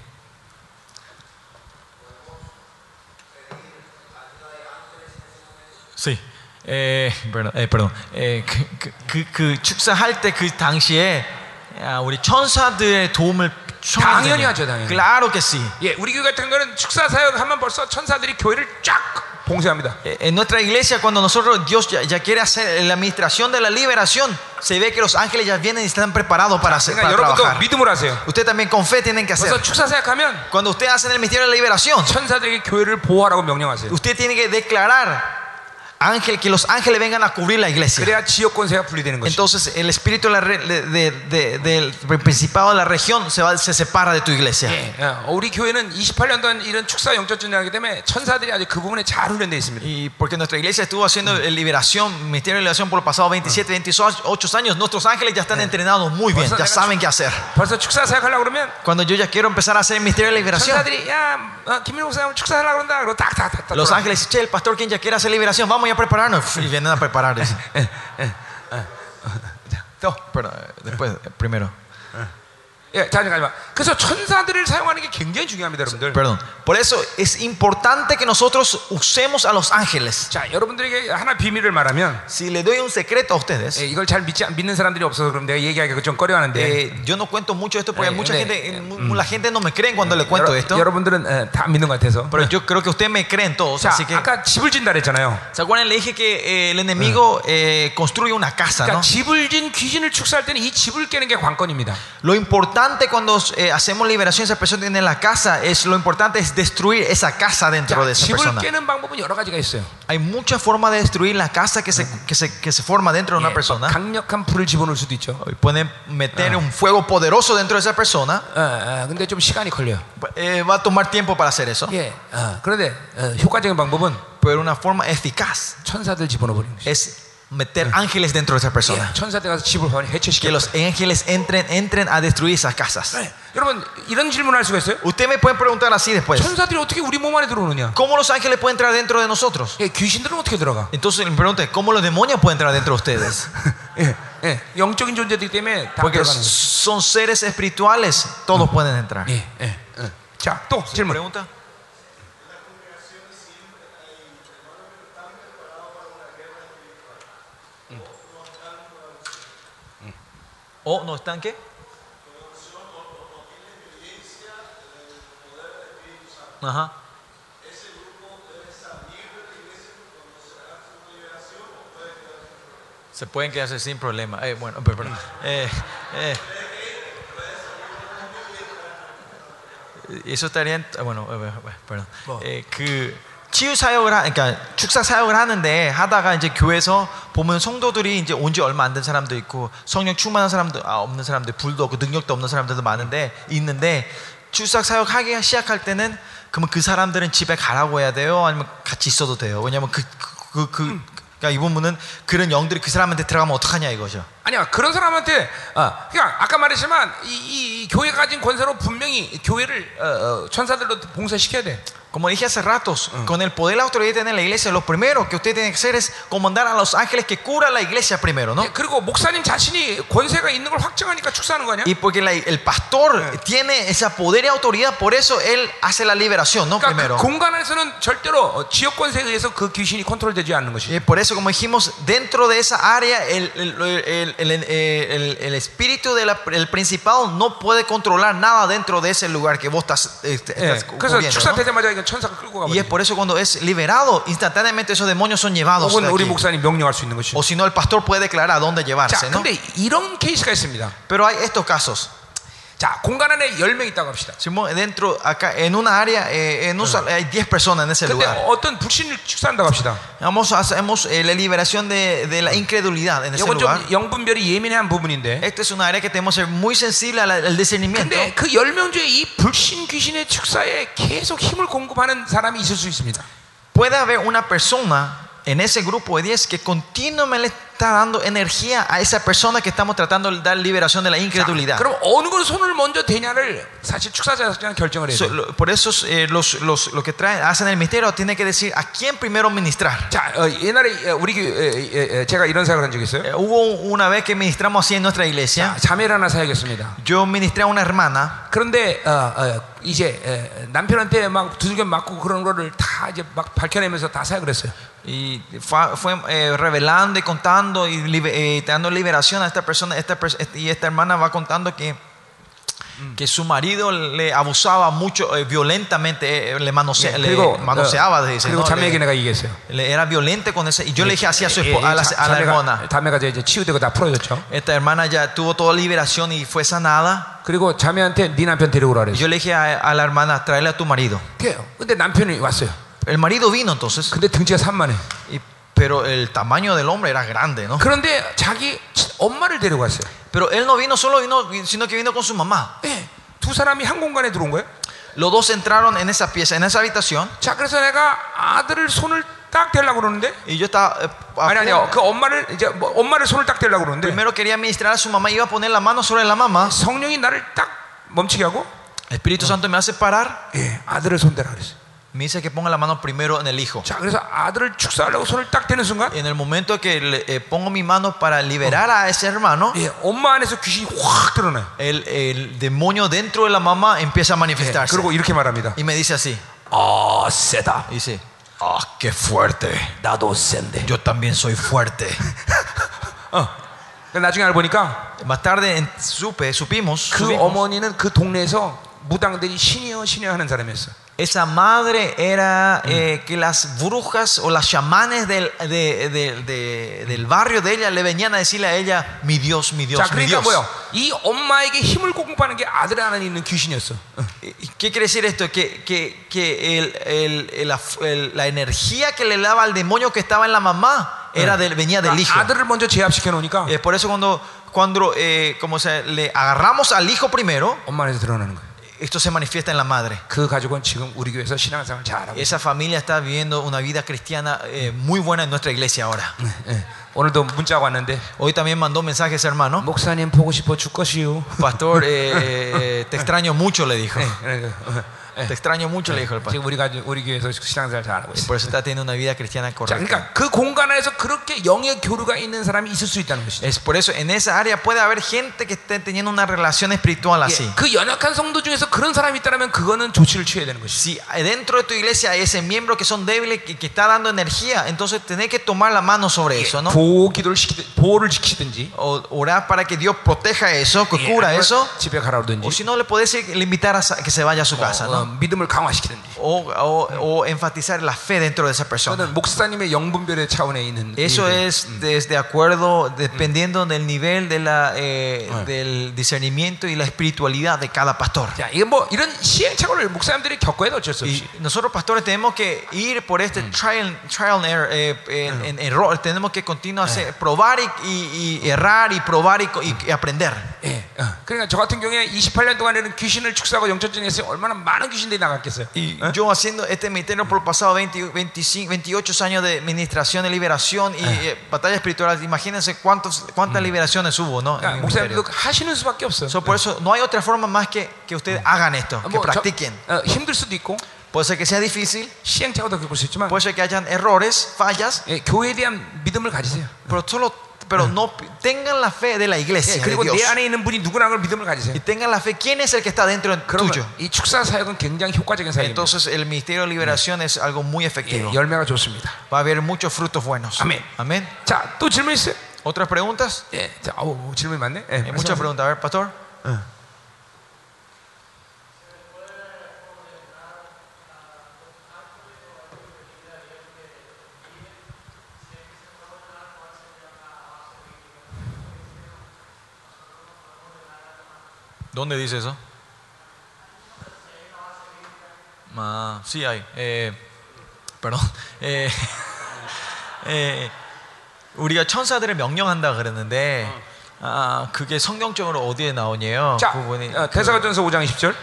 Sí. perdón. 그 축사할 때 그 당시에 우리 천사들의 도움을 당연히 하죠, 당연히. Claro que sí. 예, 우리 교회 같은 거는 축사 사역하면 벌써 천사들이 교회를 쫙 봉쇄합니다. En nuestra iglesia, cuando nosotros Dios ya quiere hacer la administración de la liberación, se ve que los ángeles ya vienen y están preparados para 여러분도 trabajar. 믿음으로 하세요. Usted también con fe tienen que hacer. 그래서 축사 사역하면 Cuando usted hace el ministerio de la liberación, 천사들에게 교회를 보호하라고 명령하세요. usted tiene que declarar ángel, que los ángeles vengan a cubrir la iglesia. 그래야 지역 권세가 분리되는 것이. Entonces el espíritu del principado de la región se separa de tu iglesia. 예, 우리 교회는 28년 동안 이런 축사 영적 전쟁하기 때문에 천사들이 아주 그 부분에 잘 훈련되어 있습니다. Y porque nuestra iglesia estuvo haciendo liberación, ministerio de liberación por los pasados 27, 28 años, nuestros ángeles ya están entrenados muy bien, ya saben qué hacer. 벌써 축사 사역하려고 그러면 Cuando yo ya quiero empezar a hacer el ministerio de liberación, 천사들이 야 김민호 목사님 축사하려고 그런다. 그러고 딱딱딱. los ángeles dicen, che, el pastor quien ya quiere hacer liberación, vamos ya a prepararnos. Y vienen a preparar eso. Pero después, primero. 예, 잠깐만. 그래서 천사들을 사용하는 게 굉장히 중요합니다, 여러분들. Perdón. Por eso es importante que nosotros usemos a los ángeles. 자, 여러분들에게 하나 비밀을 말하면, Si le doy un secreto a ustedes, 이걸 잘 믿는 사람들이 없어서 그럼 내가 얘기하기가 좀 꺼려하는데, yo no cuento mucho esto porque mucha 네. gente, la gente no me cree cuando le cuento esto. 여러분들은 다 믿는 것 같아서. Pero yo creo que ustedes me creen todos. 자, Así que, 아까 집을 진다 그랬잖아요. ¿se acuerdan? Le dije que el enemigo construye una casa, 그러니까 ¿no? 집을 진 귀신을 축사할 때는 이 집을 깨는 게 관건입니다. Lo importante cuando hacemos liberación, esa persona tiene la casa, lo importante es destruir esa casa dentro de esa 집을 persona. 깨는 방법은 여러 가지가 있어요. Hay muchas formas de destruir la casa que se forma dentro de una persona. 강력한 불을 집어넣을 수도 있죠. Pueden meter un fuego poderoso dentro de esa persona. 근데 좀 시간이 걸려요. Va a tomar tiempo para hacer eso. 예, 그런데 효과적인 방법은 Pero una forma eficaz 천사들 집어넣어버리는 거죠. es meter ángeles dentro de esa persona. 천사들 가서 집을 Que 해체시켜. los ángeles entren a destruir esas casas. 여러분 이런 질문할 수가 있어요? Ustedes me pueden preguntar así después. 천사들이 어떻게 우리 몸 안에 들어오느냐? ¿Cómo los ángeles pueden entrar dentro de nosotros? 예, 귀신들은 어떻게 들어가? Entonces me preguntan, ¿cómo los demonios pueden entrar dentro de ustedes? 예, 영적인 존재들이기 때문에 다 Porque 들어가는 거예요. son seres espirituales, todos pueden entrar. 자, 또 질문. Pregunta. ¿O no están qué? Ajá. Se pueden quedarse sin problema. Bueno, perdón. Eso estaría bueno, perdón. 치유 사역을 그러니까 축사 사역을 하는데 하다가 이제 교회에서 보면 성도들이 이제 온 지 얼마 안 된 사람도 있고 성령 충만한 사람도 없는 사람들, 불도 없고 능력도 없는 사람들도 있는데 축사 사역 하기 시작할 때는 그러면 그 사람들은 집에 가라고 해야 돼요? 아니면 같이 있어도 돼요? 왜냐면 그러니까 이 부분은 그런 영들이 그 사람한테 들어가면 어떡하냐 이거죠. 아니야, 그런 사람한테 그러니까 아까 말했지만 이 교회가 가진 권세로 분명히 교회를 천사들로 봉사시켜야 돼. Como dije hace ratos, con el poder y la autoridad que tiene la iglesia, lo primero que usted tiene que hacer es comandar a los ángeles que curan la iglesia primero, ¿no? 그리고 목사님 자신이 권세가 있는 걸 확증하니까 축사하는 거 아니야? Y porque el pastor tiene esa poder y autoridad, por eso él hace la liberación, ¿no? 그러니까 Primero. 그 공간에서는 절대로 지역 권세에 의해서 그 귀신이 컨트롤되지 않는 것이. Y por eso, como dijimos, dentro de esa área, el espíritu del principado no puede controlar nada dentro de ese lugar que vos estás 그래서 cubriendo, 축사 ¿no? 되자마자 이건 천사가 끌고 가버려. Y es por eso cuando es liberado, instantáneamente esos demonios son llevados 혹은 de 우리 aquí. 목사님 명령할 수 있는 것이. O si no, el pastor puede declarar a dónde llevarse, 자, ¿no? 근데 이런 케이스가 있습니다. Pero hay estos casos. 자, 공간 안에 10명 있다고 합시다. Dentro, acá, en una área, hay 10 personas en ese 근데 lugar. 어떤 불신을 축사한다고 합시다. Hacemos la liberación de la incredulidad en ese 이건 lugar. 좀 영분별이 예민한 부분인데. Esta es una área que tenemos que ser muy sensible al discernimiento. 근데 그 10명 중에 이 불신 귀신의 축사에 계속 힘을 공급하는 사람이 있을 수 있습니다. Puede haber una persona en ese grupo de 10 que continuamente está dando energía a esa persona que estamos tratando de dar liberación de la incredulidad. 자, 그럼 어느 걸 손을 먼저 대냐를 사실 축사자는 결정을 해야 돼요. Por eso los que hacen el misterio tienen que decir a quién primero ministrar. 자, 옛날에 우리 제가 이런 생각을 한 적이 있어요. Hubo una vez que ministramos así en nuestra iglesia. 자, 자매를 하나 사야겠습니다. Yo ministré a una hermana. 그런데 이제 남편한테 막 두들겨 맞고 그런 거를 다 이제 막 밝혀내면서 다 사역을 했어요. Y fue revelando y contando y dando liberación a esta persona. Y esta hermana va contando que su marido le abusaba mucho, violentamente, le manoseaba. Dice, 그리고 ¿no? 자매에게 내가 얘기했어요. Era violento con ese. Y yo le dije así a la hermana. 자매가 이제 치유되고 다 풀어졌죠. Esta hermana ya tuvo toda liberación y fue sanada. 그리고 자매한테 네 남편 데리고 오라 Y 그랬어요. yo le dije a la hermana, tráele a tu marido. 근데 남편이 왔어요. El marido vino entonces. 근데 등치가 산만해. pero el tamaño del hombre era grande, ¿no? 그런데 자기 엄마를 데려갔어요. Pero él no vino solo, sino que vino con su mamá. 예, 두 사람이 한 공간에 들어온 거예요. Los dos entraron en esa pieza, en esa habitación. 자, 그래서 내가 아들을 손을 딱 대려고 그러는데, Y yo estaba 아니요, 그 엄마를 이제 엄마를 손을 딱 대려고 그러는데, primero quería ministrar a su mamá, iba a poner la mano sobre la mamá. 성령이 나를 딱 멈추게 하고, El Espíritu Santo me hace parar. 예, 아들을 손대라 그랬어요. Me dice que ponga la mano primero en el hijo. 자, 그래서 아들을 축사하려고 손을 딱 대는 순간, En el momento que pongo mi mano para liberar a ese hermano, 예, 엄마 안에서 귀신이 확 드러나요. el demonio dentro de la mamá empieza a 예, manifestarse. 그리고 이렇게 말합니다. Y me dice así. 아, 세다. Dice, ah, qué fuerte. 나도 센데. Yo también soy fuerte. 나중에 알고 보니까 Más tarde supimos 그 어머니는 그 동네에서 무당들이 신이여 신이여 하는 사람이었어. esa madre era que las brujas o las chamanes del barrio de ella le venían a decirle a ella, mi Dios, mi Dios, 자, mi 그러니까 Dios. 뭐야? 이 엄마에게 힘을 공급하는 게 아들 안에 있는 귀신이었어. ¿Qué quiere decir esto? Que la energía que le daba al demonio que estaba en la mamá venía del hijo. 아들을 먼저 제압시켜 놓으니까 Por eso cuando le agarramos al hijo primero, 엄마 안에서 드러나는 거예요. esto se manifiesta en la madre. 그 가족은 지금 우리 교회에서 신앙생활 잘하고 있어요. Esa familia está viviendo una vida cristiana muy buena en nuestra iglesia ahora. 오늘도 문자가 왔는데, Hoy también mandó mensajes, hermano. 목사님 보고 싶어 죽겠시요. Pastor, te extraño mucho, le dijo. 예. Te extraño mucho, le dijo el pastor. 지금 우리 교회에서 신앙생활 잘하고 있어요. Por eso está teniendo una vida cristiana 자, correcta. 그러니까 그 공간 안에서 그렇게 영의 교류가 있는 사람이 있을 수 있다는 것이죠. Es por eso en esa área puede haber gente que esté teniendo una relación espiritual así. 그 연약한 성도 중에서 그런 사람이 있다면 그거는 조치를 취해야 되는 것이죠. Si dentro de tu iglesia hay ese miembro que son débiles, que está dando energía, entonces tenés que tomar la mano sobre eso, ¿no? 보호를 지키든지, O orar para que Dios proteja eso, que cura eso. 집에 가라 O 그러든지, si no, le podés invitar a que se vaya a su casa, ¿no? 믿음을 강화시키든지. O enfatizar la fe dentro de esa persona. 저는 목사님의 영분별의 차원에 있는. Eso es de acuerdo, dependiendo del nivel del discernimiento y la espiritualidad de cada pastor. 자, 이게 뭐 이런 시행착오를 목사님들이 겪어야 돼 어쩔 수 없이. Y nosotros pastores tenemos que ir por este trial and error, en error. Tenemos que continuar probar y errar y probar y aprender. 예, 그러니까 저 같은 경우에 28년 동안에는 귀신을 축사하고 영천전에서 얼마나 많은 귀신들이 나갔겠어요. Y yo haciendo este ministerio por pasado 28 años de administración, de liberación y batalla espiritual, imagínense cuántas liberaciones hubo, ¿no? 그러니까 목사님도 하시는 수밖에 없어. Por eso no hay otra forma más que ustedes hagan esto, que practiquen. 힘들 수도 있고, Puede ser que sea difícil, 시행착오도 겪을 수 있지만, puede ser que hayan errores, fallas, 교회에 대한 믿음을 가지세요. pero no tengan la fe de la iglesia, de 그리고 Dios. 내 안에 있는 분이 누구라는 걸 믿음을 가지세요. Y tengan la fe, ¿quién es el que está dentro tuyo? 이 축사 사역은 굉장히 효과적인 사역입니다. Entonces el ministerio de liberación es algo muy efectivo. 열매가 좋습니다. Va a haber muchos frutos buenos. 아멘. Amén. 자, 또 질문 있어요? ¿Otras preguntas? 예, 자, 질문이 많네. Hay muchas preguntas. A ver, pastor. ¿Dónde dice eso? Sí hay. Perdón. 우리가 천사들을 명령한다 그랬는데 그게 성경적으로 어디에 나오냐요? 자, 부분이 데살로니가전서 5장 20절.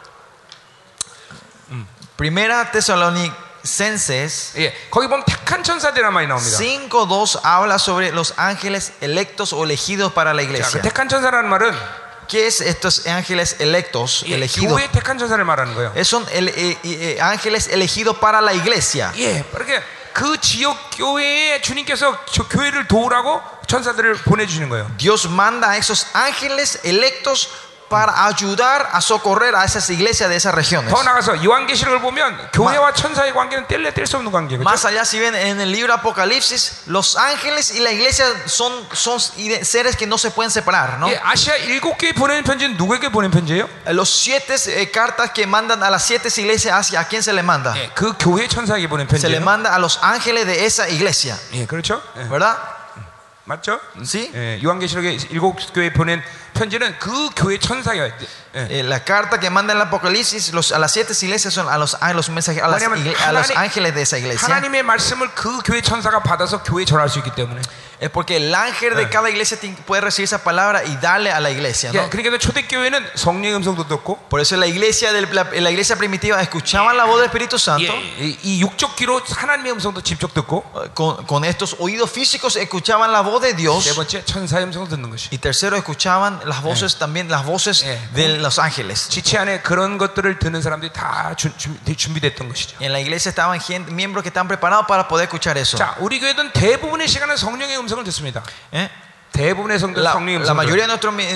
Primera Tesalonicenses 예, 거기 보면 택한 천사들이란 말이 나옵니다. 5:2 habla sobre los ángeles electos o elegidos para la 자, 그 iglesia. 택한 천사라는 말은 ¿Qué es estos ángeles electos, elegidos? 교회 택한 천사를 말하는 거예요. Son ángeles elegidos para la iglesia. 예, 그렇게 그 지역 교회에 주님께서 저 교회를 도우라고 천사들을 보내주시는 거예요. Dios manda a esos ángeles electos para ayudar a socorrer a esas iglesias de esas regiones. 더 나가서 요한계시록을 보면 교회와 천사의 관계는 뗄 수 없는 관계죠. Más allá, si ven en el libro Apocalipsis, los ángeles y la iglesia son seres que no se pueden separar, ¿no? 예, 아시아 7개에 보내는 편지는 누구에게 보낸 편지예요? Los 7 cartas que mandan a las 7 iglesias, ¿a quién se le manda? 예, 그 교회 천사에게 보낸 Se le 편지예요. manda a los ángeles de esa iglesia, 예, 그렇죠? 예. ¿verdad? 맞죠? ¿Sí? 예, 요한계시록에 7교회 보낸 편지는 그 교회 천사예요. 예. La carta que manda el Apocalipsis a las 7 iglesias son a los mensajeros, a los ángeles de esa iglesia. 하나님의 말씀을 그 교회 천사가 받아서 교회에 전할 수 있기 때문에. Es porque el ángel de cada iglesia puede recibir esa palabra y darle a la iglesia, ¿no? 예, 그러니까 초대교회는 성령의 음성도 듣고. Por eso la iglesia primitiva escuchaban la voz del Espíritu Santo. 예, 이 육적 귀로 하나님의 음성도 직접 듣고. Con estos oídos físicos escuchaban la voz de Dios. 세 번째 천사의 음성을 듣는 것이. Y tercero escuchaban las voces también las voces de los ángeles. 지체 안에 그런 것들을 듣는 사람들이 다 준비됐던 것이죠. En la iglesia estaban miembros que estaban preparados para poder escuchar eso. 자, 우리 교회는 대부분의 시간은 성령의 음성을 듣습니다. 대부분의 성령의 음성을. La mayoría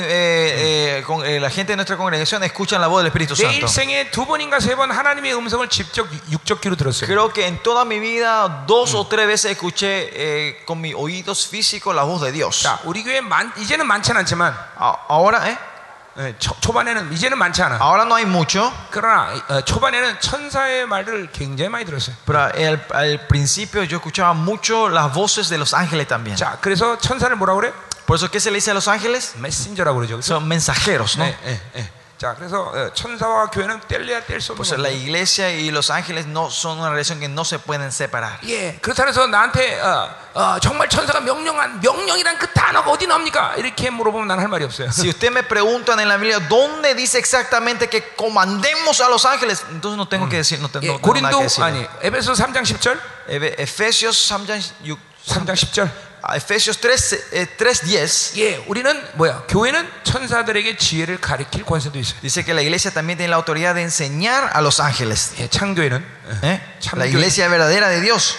de la gente de nuestra congregación escuchan la voz del Espíritu 내 Santo. 일생에 2번인가 3번 하나님의 음성을 직접 육적 귀로 들었어요. Creo que en toda mi vida 2 o 3 veces escuché con mis oídos físicos la voz de Dios. 자, 우리 교회 이제는 많지는 않지만 ahora 초반에는 이제는 많지 않아. ahora no hay mucho. 그러나 초반에는 천사의 말을 굉장히 많이 들었어요. Pero al principio yo escuchaba mucho las voces de los ángeles también. 자, 그래서 천사를 뭐라고 그래? Por eso ¿qué se le dice a los ángeles? 메신저라고 그러죠. Son mensajeros, ¿no? 자, 그래서 천사와 교회는 뗄래야 뗄 수 없는 Pues la iglesia y los ángeles no son una relación que no se pueden separar. 예, 그렇다 해서 나한테 정말 천사가 명령이란 그 단어가 어디 나옵니까? 이렇게 물어보면 난 할 말이 없어요. Si usted me preguntan en la Biblia dónde dice exactamente que comandemos a los ángeles, entonces no tengo que decir, no tengo nada que 고린도 decir. 아니 에베소 3장 10절. Efesios 3장 10절. Efesios 3:10. 예, 우리는 뭐야? 교회는 천사들에게 지혜를 가르칠 권세도 있어요. Dice que la iglesia también tiene la autoridad de enseñar a los ángeles. 예, 창교회는 La iglesia verdadera de Dios.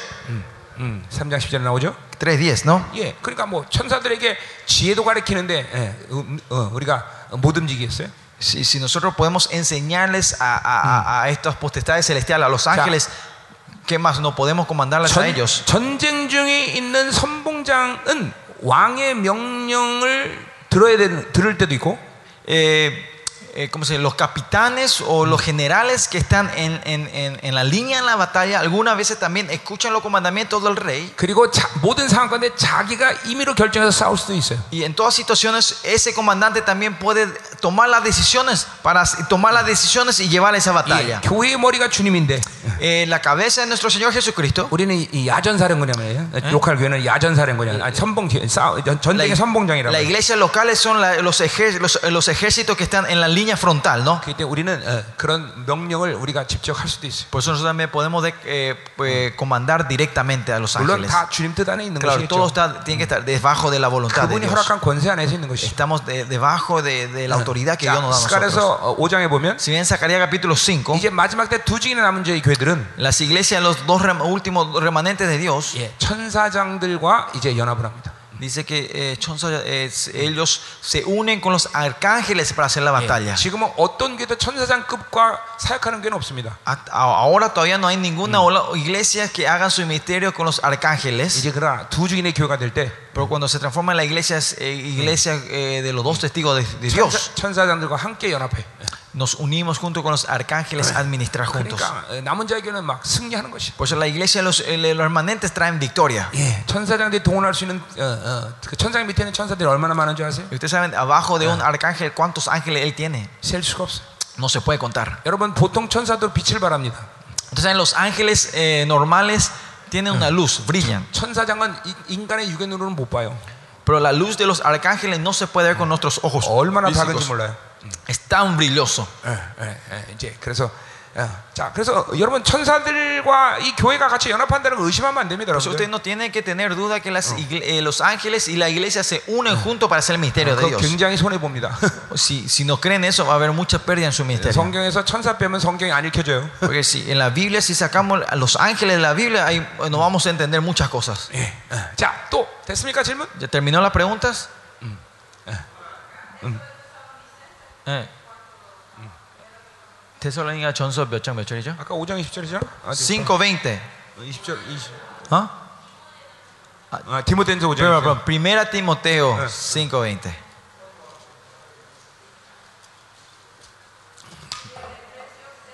3장 10절에 나오죠. 3:10, ¿no? 예, 그러니까 뭐 천사들에게 지혜도 가르치는데 우리가 못 움직이겠어요? Si nosotros podemos enseñarles a estas potestades celestiales, a los ángeles, ¿qué más no podemos comandarles a ellos? 전쟁 중에 있는 선봉장은 왕의 명령을 들을 때도 있고, ¿cómo se dice? Los capitanes o los generales que están en la línea en la batalla, algunas veces también escuchan los comandamientos del rey. 그리고 모든 상황 가운데 자기가 임의로 결정해서 싸울 수도 있어요. Y en todas situaciones ese comandante también puede tomar las decisiones y llevar esa batalla. 예, 교회의 머리가 주님인데, la cabeza de nuestro Señor Jesucristo. 우리는 이 야전사령관이에요. 로컬 교회는 야전사령관이야. 전쟁의 선봉장이라고. La iglesia locales son los ejércitos que están en la línea frontal, ¿no? 그때 우리는 그런 명령을 우리가 직접 할 수도 있어요. Por eso nosotros también podemos comandar directamente a los 물론 ángeles. 다 주님 뜻 안에 있는 Claro, 것이겠죠. todo tiene que estar debajo de la voluntad de 그분이 Dios. 허락한 권세 안에서 있는 것이죠. Estamos debajo de la autoridad que Dios nos da a nosotros. 스가랴서 5장에 보면, Si bien Zacarías capítulo 5, 이제 마지막 때 2증이나 남은 자의 교회들은 las iglesias, los 2 últimos remanentes de Dios, 천사장들과 이제 연합을 합니다. dice que ellos se unen con los arcángeles para hacer la batalla. 지금은 어떤 교회도 천사장급과 사역하는 교회는 없습니다. Ahora todavía no hay ninguna iglesia que hagan su ministerio con los arcángeles. 이제 그러나 2증인의 교회가 될 때, Pero cuando se transforma en la iglesia de los 2 testigos de Dios, 천사장들과 함께 연합해. nos unimos junto con los arcángeles a administrar juntos. 그러니까 남은 자의 교회는 막 승리하는 것이. Por eso la iglesia, los remanentes traen victoria. 예, 천사장들이 동원할 수 있는 그 천사장 밑에 있는 천사들이 얼마나 많은 줄 아세요? Y ustedes saben, abajo de un arcángel, ¿cuántos ángeles él tiene? 셀 수가 없어요. No se puede contar. 여러분, 보통 천사도 빛을 발합니다. Ustedes saben, los ángeles normales tienen una luz, brillan. 천사장은 인간의 육의 눈으로는 못 봐요. Pero la luz de los arcángeles no se puede ver con nuestros ojos. 얼마나 físicos. 밝은지 몰라요. Es tan brilloso. 이제 그래서 자, 그래서 여러분 천사들과 이 교회가 같이 연합한다는 걸 의심하면 안 됩니다. Usted no tiene que tener duda que los ángeles y la iglesia se unen juntos para hacer el misterio de Dios. 굉장히 손해 봅니다. Si no creen eso, va a haber mucha pérdida en su ministerio. 성경에서 천사 빼면 성경이 안 읽혀져요. Porque si en la Biblia, si sacamos a los ángeles de la Biblia, ahí no vamos a entender muchas cosas. 자, 또 됐습니까 질문? ¿Ya terminó las preguntas? Tesalónica 전서 몇 장 몇 절이죠? 아까 5장 20절이죠? 5:20. 20절 20. ¿Ah? 디모데전서 5장. Primera Timoteo 5:20.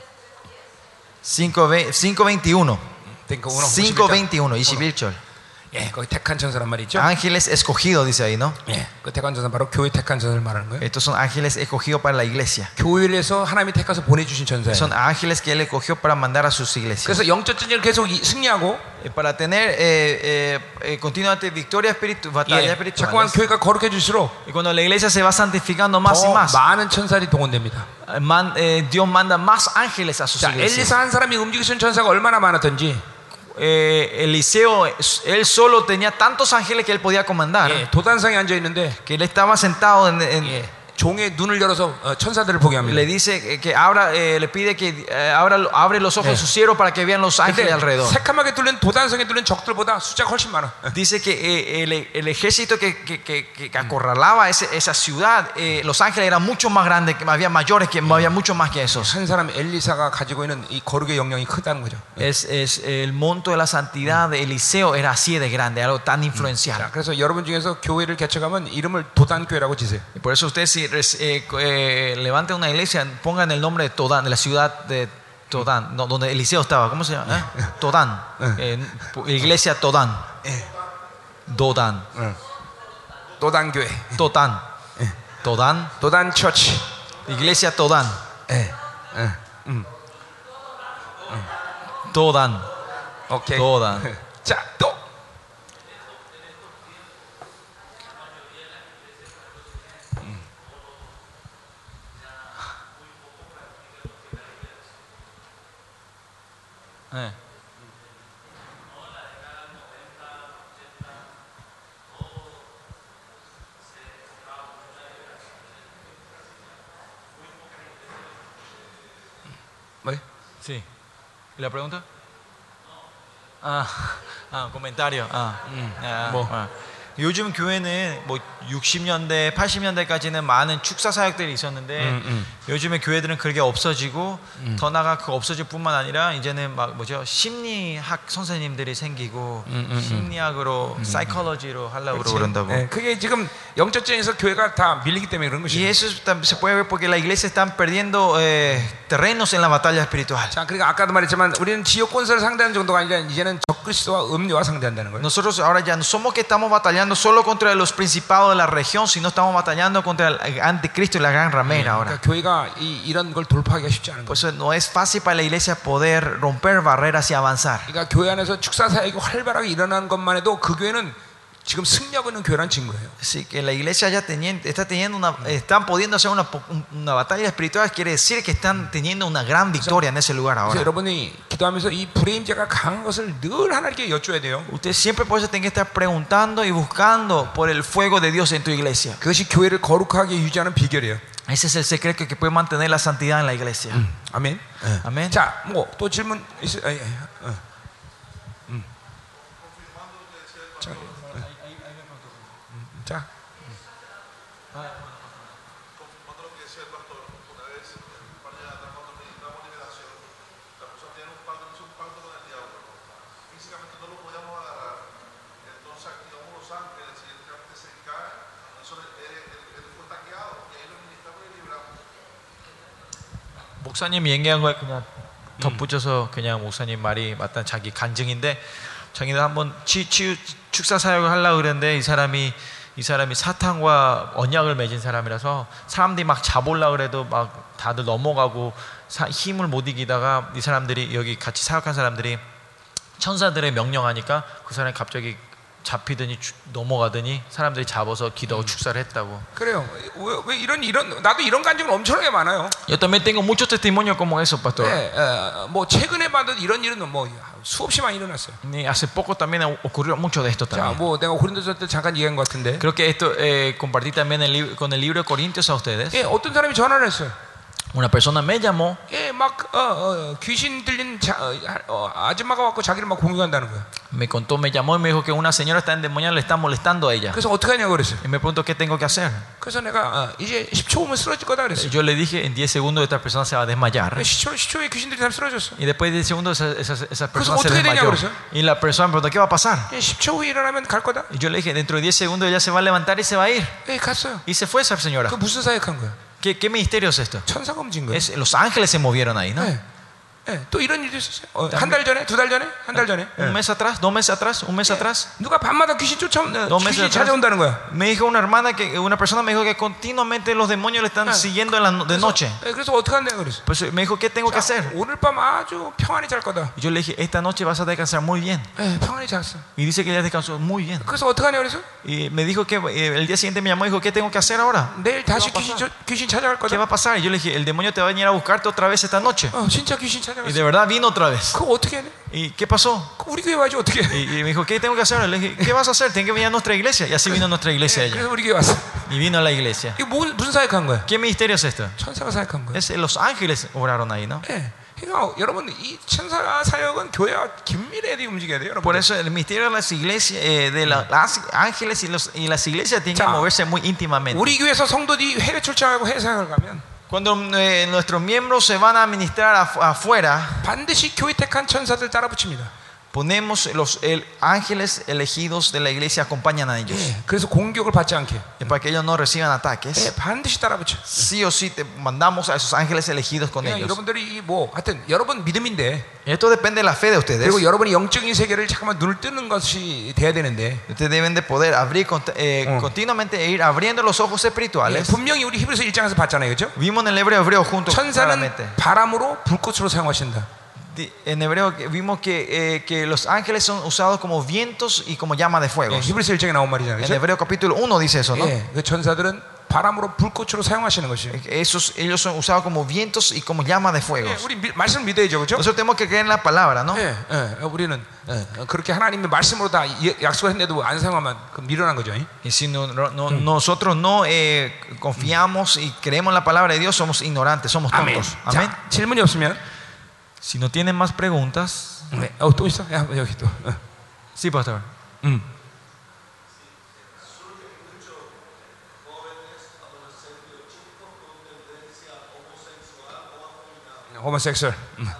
$5:21. 5:21. 21. 21. 21. 예, 거기 택한 천사란 말이죠. Ángeles escogidos dice ahí, ¿no? 예, 그 택한 천사 바로 교회 택한 천사를 말하는 거예요. Estos son ángeles escogidos para la iglesia. 교회를 해서 하나님이 택해서 보내주신 천사예요. Son ángeles que él escogió para mandar a sus iglesias. 그래서 영적 전쟁을 계속 승리하고 Para tener continuamente victoria espiritual, batalla 예, 자꾸만 espiritual. 교회가 거룩해질수록 Y cuando la iglesia se va santificando más y 더 más, 많은 천사들이 동원됩니다. Dios manda más ángeles a sus 자, iglesias. 엘리사 한 사람이 움직이신 천사가 얼마나 많았던지 Eliseo, él solo tenía tantos ángeles que él podía comandar, 예, 도단상에 앉아 있는데 que él estaba sentado 예, 종의 눈을 열어서 천사들을 보게 합니다. le dice que abra, le pide que abre los ojos de su siervo para que vean los ángeles 근데 alrededor. 새카맣게 뚫린 도단성에 뚫린 적들보다 숫자가 훨씬 많아. Dice que el ejército que acorralaba esa ciudad, los ángeles eran mucho más grandes, que había mayores, que había mucho más que esos. 한 사람 엘리사가 가지고 있는 이 거룩의 영향이 크다는 거죠. Es el monto de la santidad de Eliseo era así de grande, algo tan 자, influencial. 그래서 여러분 중에서 교회를 개척하면 이름을 도단교회라고 지세요. Y por eso ustedes si levanten una iglesia, pongan el nombre de Todán, de la ciudad de Todán, no, donde Eliseo estaba. ¿Cómo se llama? Todán. Iglesia Todán. Dodán. 도단교회. Totán. Todán. 도단 처치. Iglesia Todán. 예. Todán. 오케이. 도단. 자, 또 네. 뭐? Sí. ¿Y la pregunta? comentario. 뭐? 요즘 교회는 뭐 60년대, 80년대까지는 많은 축사 사역들이 있었는데 요즘에 교회들은 그게 없어지고 더 나아가 그 없어질 뿐만 아니라 이제는 막 뭐죠? 심리학 선생님들이 생기고 심리학으로 사이콜로지로 하려고 그런다고. 예, 그게 지금 영적전에서 교회가 다 밀리기 때문에 그런 Y 것이에요. eso se puede ver porque la iglesia están perdiendo terrenos en la batalla espiritual. 자, 그러니까 아까도 말했지만 우리는 지역 권세를 상대하는 정도가 아니라 이제는 적그리스도와 음료와 상대한다는 거예요. Nosotros ahora ya no somos que estamos batallando solo contra los principados de la región, sino estamos batallando contra el anticristo y la gran ramera ahora. 그러니까 교회가 이런 걸 돌파하기가 쉽지 않은 Por 거예요. eso no es fácil para la iglesia poder romper barreras y avanzar. 그러니까 교회 안에서 축사 사역이 활발하게 일어나는 것만 해도 그 교회는 지금 승리하고 있는 교회란 증거예요. Así que la iglesia ya están pudiendo hacer una batalla espiritual, quiere decir que están teniendo una gran victoria en ese lugar 그래서 ahora. 여러분이 기도하면서 이 불의 임재가 강한 것을 늘 하나님께 여쭤야 돼요. Usted siempre por eso tiene que estar preguntando y buscando por el fuego de Dios en tu iglesia. 그것이 교회를 거룩하게 유지하는 비결이에요. Ese es el secreto que puede mantener la santidad en la iglesia. 아멘. Amén. 자, 뭐 또 질문 있어요? 자, 목사님 얘기한 거에 그냥 덧붙여서 그냥 목사님 말이 맞다 자기 간증인데 자기는 한번 축사 사역을 하려고 그랬는데 이 사람이 사탄과 언약을 맺은 사람이라서 사람들이 막 잡으려고 그래도 막 다들 넘어가고 힘을 못 이기다가 이 사람들이 여기 같이 사역한 사람들이 천사들의 명령하니까 그 사람이 갑자기 잡히더니 넘어가더니 사람들이 잡아서 기도하고 축사를 했다고. 그래요. 왜 이런 나도 이런 간증은 엄청나게 많아요. Yo también tengo muchos testimonios como eso, pastor. 네, 뭐 최근에 봐도 이런 일은 뭐 수없이 많이 일어났어요. Y hace poco también ocurrió mucho de esto 자, también. 뭐 내가 고린도서 때 잠깐 얘기한 것 같은데. Creo que esto compartí también con el libro de Corintios a ustedes. 예, 어떤 사람이 전화를 했어요. Una persona me llamó. 예, 막 귀신 들린 아줌마가 왔고 자기를 막 공격한다는 거야. Me llamó y me dijo que una señora está endemoniada, le está molestando a ella. 그래서 어떻게 하냐고 그랬어요. Y me preguntó qué tengo que hacer. 그래서 내가 이제 10초 후면 쓰러질 거다 그랬어요. Yo le dije en 10 segundos esta persona se va a desmayar. 10초에 귀신 들린 사람 쓰러졌어. Y después de 10 segundos esa persona se 어떻게 되냐 desmayó. 그랬어요? Y la persona me preguntó qué va a pasar. 10초 후에 일어나면 갈 거다. Y yo le dije dentro de 10 segundos ella se va a levantar y se va a ir. 예, 갔어요. Y se fue esa señora. 그 무슨 사역한 거야? ¿Qué ministerio es esto? 천사가 움직인 거야. Los ángeles se movieron ahí, ¿no? 네. 예, 또 이런 일도 있었어요. 한 달 전에, 두 달 전에, 한 달 전에. Un mes atrás, 2 meses atrás, un mes atrás. 누가 밤마다 귀신 meses 귀신이 atrás. 찾아온다는 거야. Me dijo una hermana que una persona me dijo que continuamente los demonios le están siguiendo de noche. 그래서 어떻게 한다 그랬어. Pues me dijo, ¿qué tengo que hacer? 오늘 밤 아주 평안히 잘 거다. Y yo le dije, esta noche vas a descansar muy bien. 예, 평안히 잤어. Y dice que ella descansó muy bien. 그래서 어떻게 하냐 그래서 Y me dijo que el día siguiente me llamó y dijo, ¿qué tengo que hacer ahora? 내일 다시 ¿Qué va a pasar? 귀신 찾아갈 ¿Qué 거다. va a pasar? Y yo le dije, el demonio te va a venir a buscarte otra vez esta noche. 진짜 귀신 Y 찾아갔어. de verdad vino otra vez. 그거 어떻게 해야 돼? ¿Y qué pasó? 우리 교회 와야지 어떻게 해? Y me dijo, ¿qué tengo que hacer? Le dije, ¿qué vas a hacer? Tengo que venir a nuestra iglesia. Y así vino a nuestra iglesia ella. 그래서 우리 교회 왔어. Y vino a la iglesia. 이거 무슨 사역한 거야? ¿Qué ministerio es esto? 천사가 사역한 거야. Es los ángeles obraron ahí, ¿no? 예. 그러니까 여러분 이 천사 사역은 교회와 긴밀하게 움직여야 돼요, Por 여러분. eso el misterio de las iglesias, de los ángeles y las iglesias tienen que 자, moverse muy íntimamente. 우리 교회에서 성도들이 해외 출장하고 해외 사역을 가면 Cuando nuestros miembros se van a ministrar afuera, 반드시 교회 택한 천사들 따라 붙입니다. ponemos los ángeles elegidos de la iglesia acompañan a ellos. 예. 그래서 공격을 받지 않게 Para que ellos no reciban ataques. 예, 반드시 따라 붙여. Sí o sí te mandamos a esos ángeles elegidos con 그러니까 ellos. 여러분들이 뭐 하여튼 여러분 믿음인데 Esto depende de la fe de ustedes. 그리고 여러분이 영적인 세계를 잠깐만 눈을 뜨는 것이 돼야 되는데 Ustedes deben de poder abrir continuamente e ir abriendo los ojos 예, espirituales. 분명히 우리 히브리서 1장에서 봤잖아요, 그렇죠? Vimos en el hebreo junto 천사는 claramente. 바람으로 불꽃으로 사용하신다. En hebreo vimos que los ángeles son usados como vientos y como llama de fuego. 예, 히브리서 1장에 나온 말이잖아요, En 그렇죠? hebreo capítulo 1 dice eso, ¿no? 예, 그 천사들은 바람으로 불꽃으로 사용하시는 것이에요. Ellos son usados como vientos y como llama de fuego. 예, 우리 말씀을 믿어야죠, 그렇죠? Nosotros tenemos que creer en la palabra, ¿no? 예, 우리는 그렇게 하나님의 말씀으로 다 약속을 했는데도 안 사용하면 그 미련한 거죠. Y si nosotros no confiamos y creemos en la palabra de Dios, somos ignorantes, somos 아멘. tontos. Amén. 자, 질문이 없으면 Si no tienen más preguntas. 네, 또 있어? 야, 여기 또. Sí, pastor. 호모섹수얼.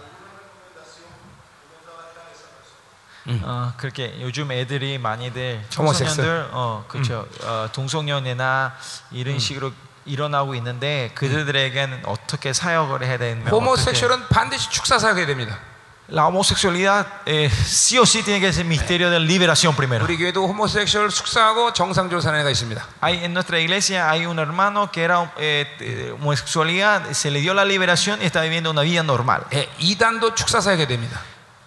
그렇게 요즘 애들이 많이들 호모섹스. 청소년들 그렇죠. 동성연애나 이런 식으로 일어나고 있는데 그들에게는 어떻게 사역을 해야 되면 호모섹수얼은 반드시 축사 사역해야 됩니다. La homosexualidad sí o sí tiene que ser misterio de liberación primero. 우리 교회도 호모섹수얼 숙사하고 정상적으로 사는 애가 있습니다. En nuestra iglesia hay un hermano que era homosexualidad, se le dio la liberación y está viviendo una vida normal. 예, 이단도 축사 사역해야 됩니다.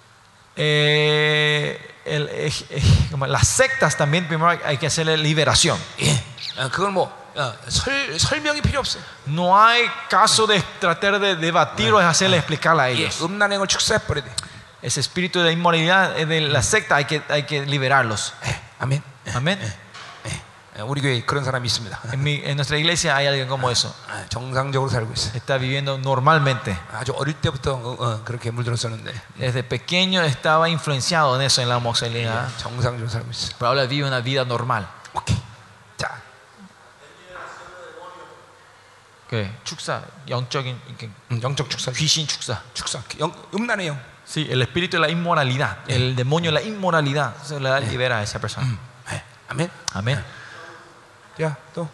Las sectas también primero hay que hacerle liberación. 예, 그건 뭐 설명이 필요 없어요. No hay caso de tratar de debatir o de hacerle explicarle a 예, ellos. 음란행을 축사해 버려야 돼. Ese espíritu de inmoralidad de la secta hay que liberarlos. 예, 아멘. Amén. 우리 교회에 그런 사람이 있습니다. En nuestra iglesia hay alguien como eso. 정상적으로 살고 있어요. Está viviendo normalmente. 아주 어릴 때부터 그렇게 물들었었는데 Desde pequeño estaba influenciado en eso, en la homosexualidad. 정상적으로 살고 있어요. Pero ahora vive una vida normal. 오케이. 자, 축사, 영적인 영적 축사, 귀신 축사. 축사, 음란의 영. Sí, el espíritu de la inmoralidad, el demonio de la inmoralidad se le libera a esa persona. 아멘. Amén. 야, 또.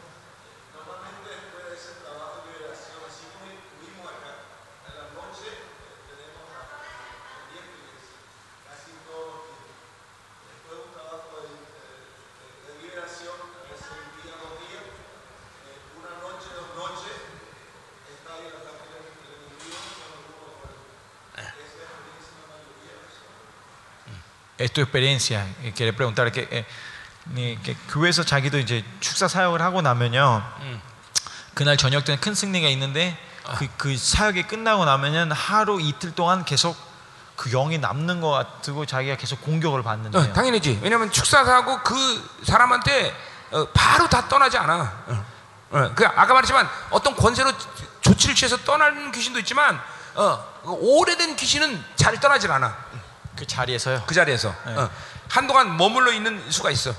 Es tu experiencia. Quiere preguntar que 교회에서 자기도 이제 축사 사역을 하고 나면요. 그날 저녁 때는 큰 승리가 있는데 그 사역이 끝나고 나면은 하루 이틀 동안 계속 그 영이 남는 것 같고 자기가 계속 공격을 받는데요. 당연히지. 왜냐하면 축사하고 그 사람한테 바로 다 떠나지 않아. 그 아까 말했지만 어떤 권세로 조치를 취해서 떠나는 귀신도 있지만 오래된 귀신은 잘 떠나질 않아. 그 자리에서요. 그 자리에서 한동안 머물러 있는 수가 있어.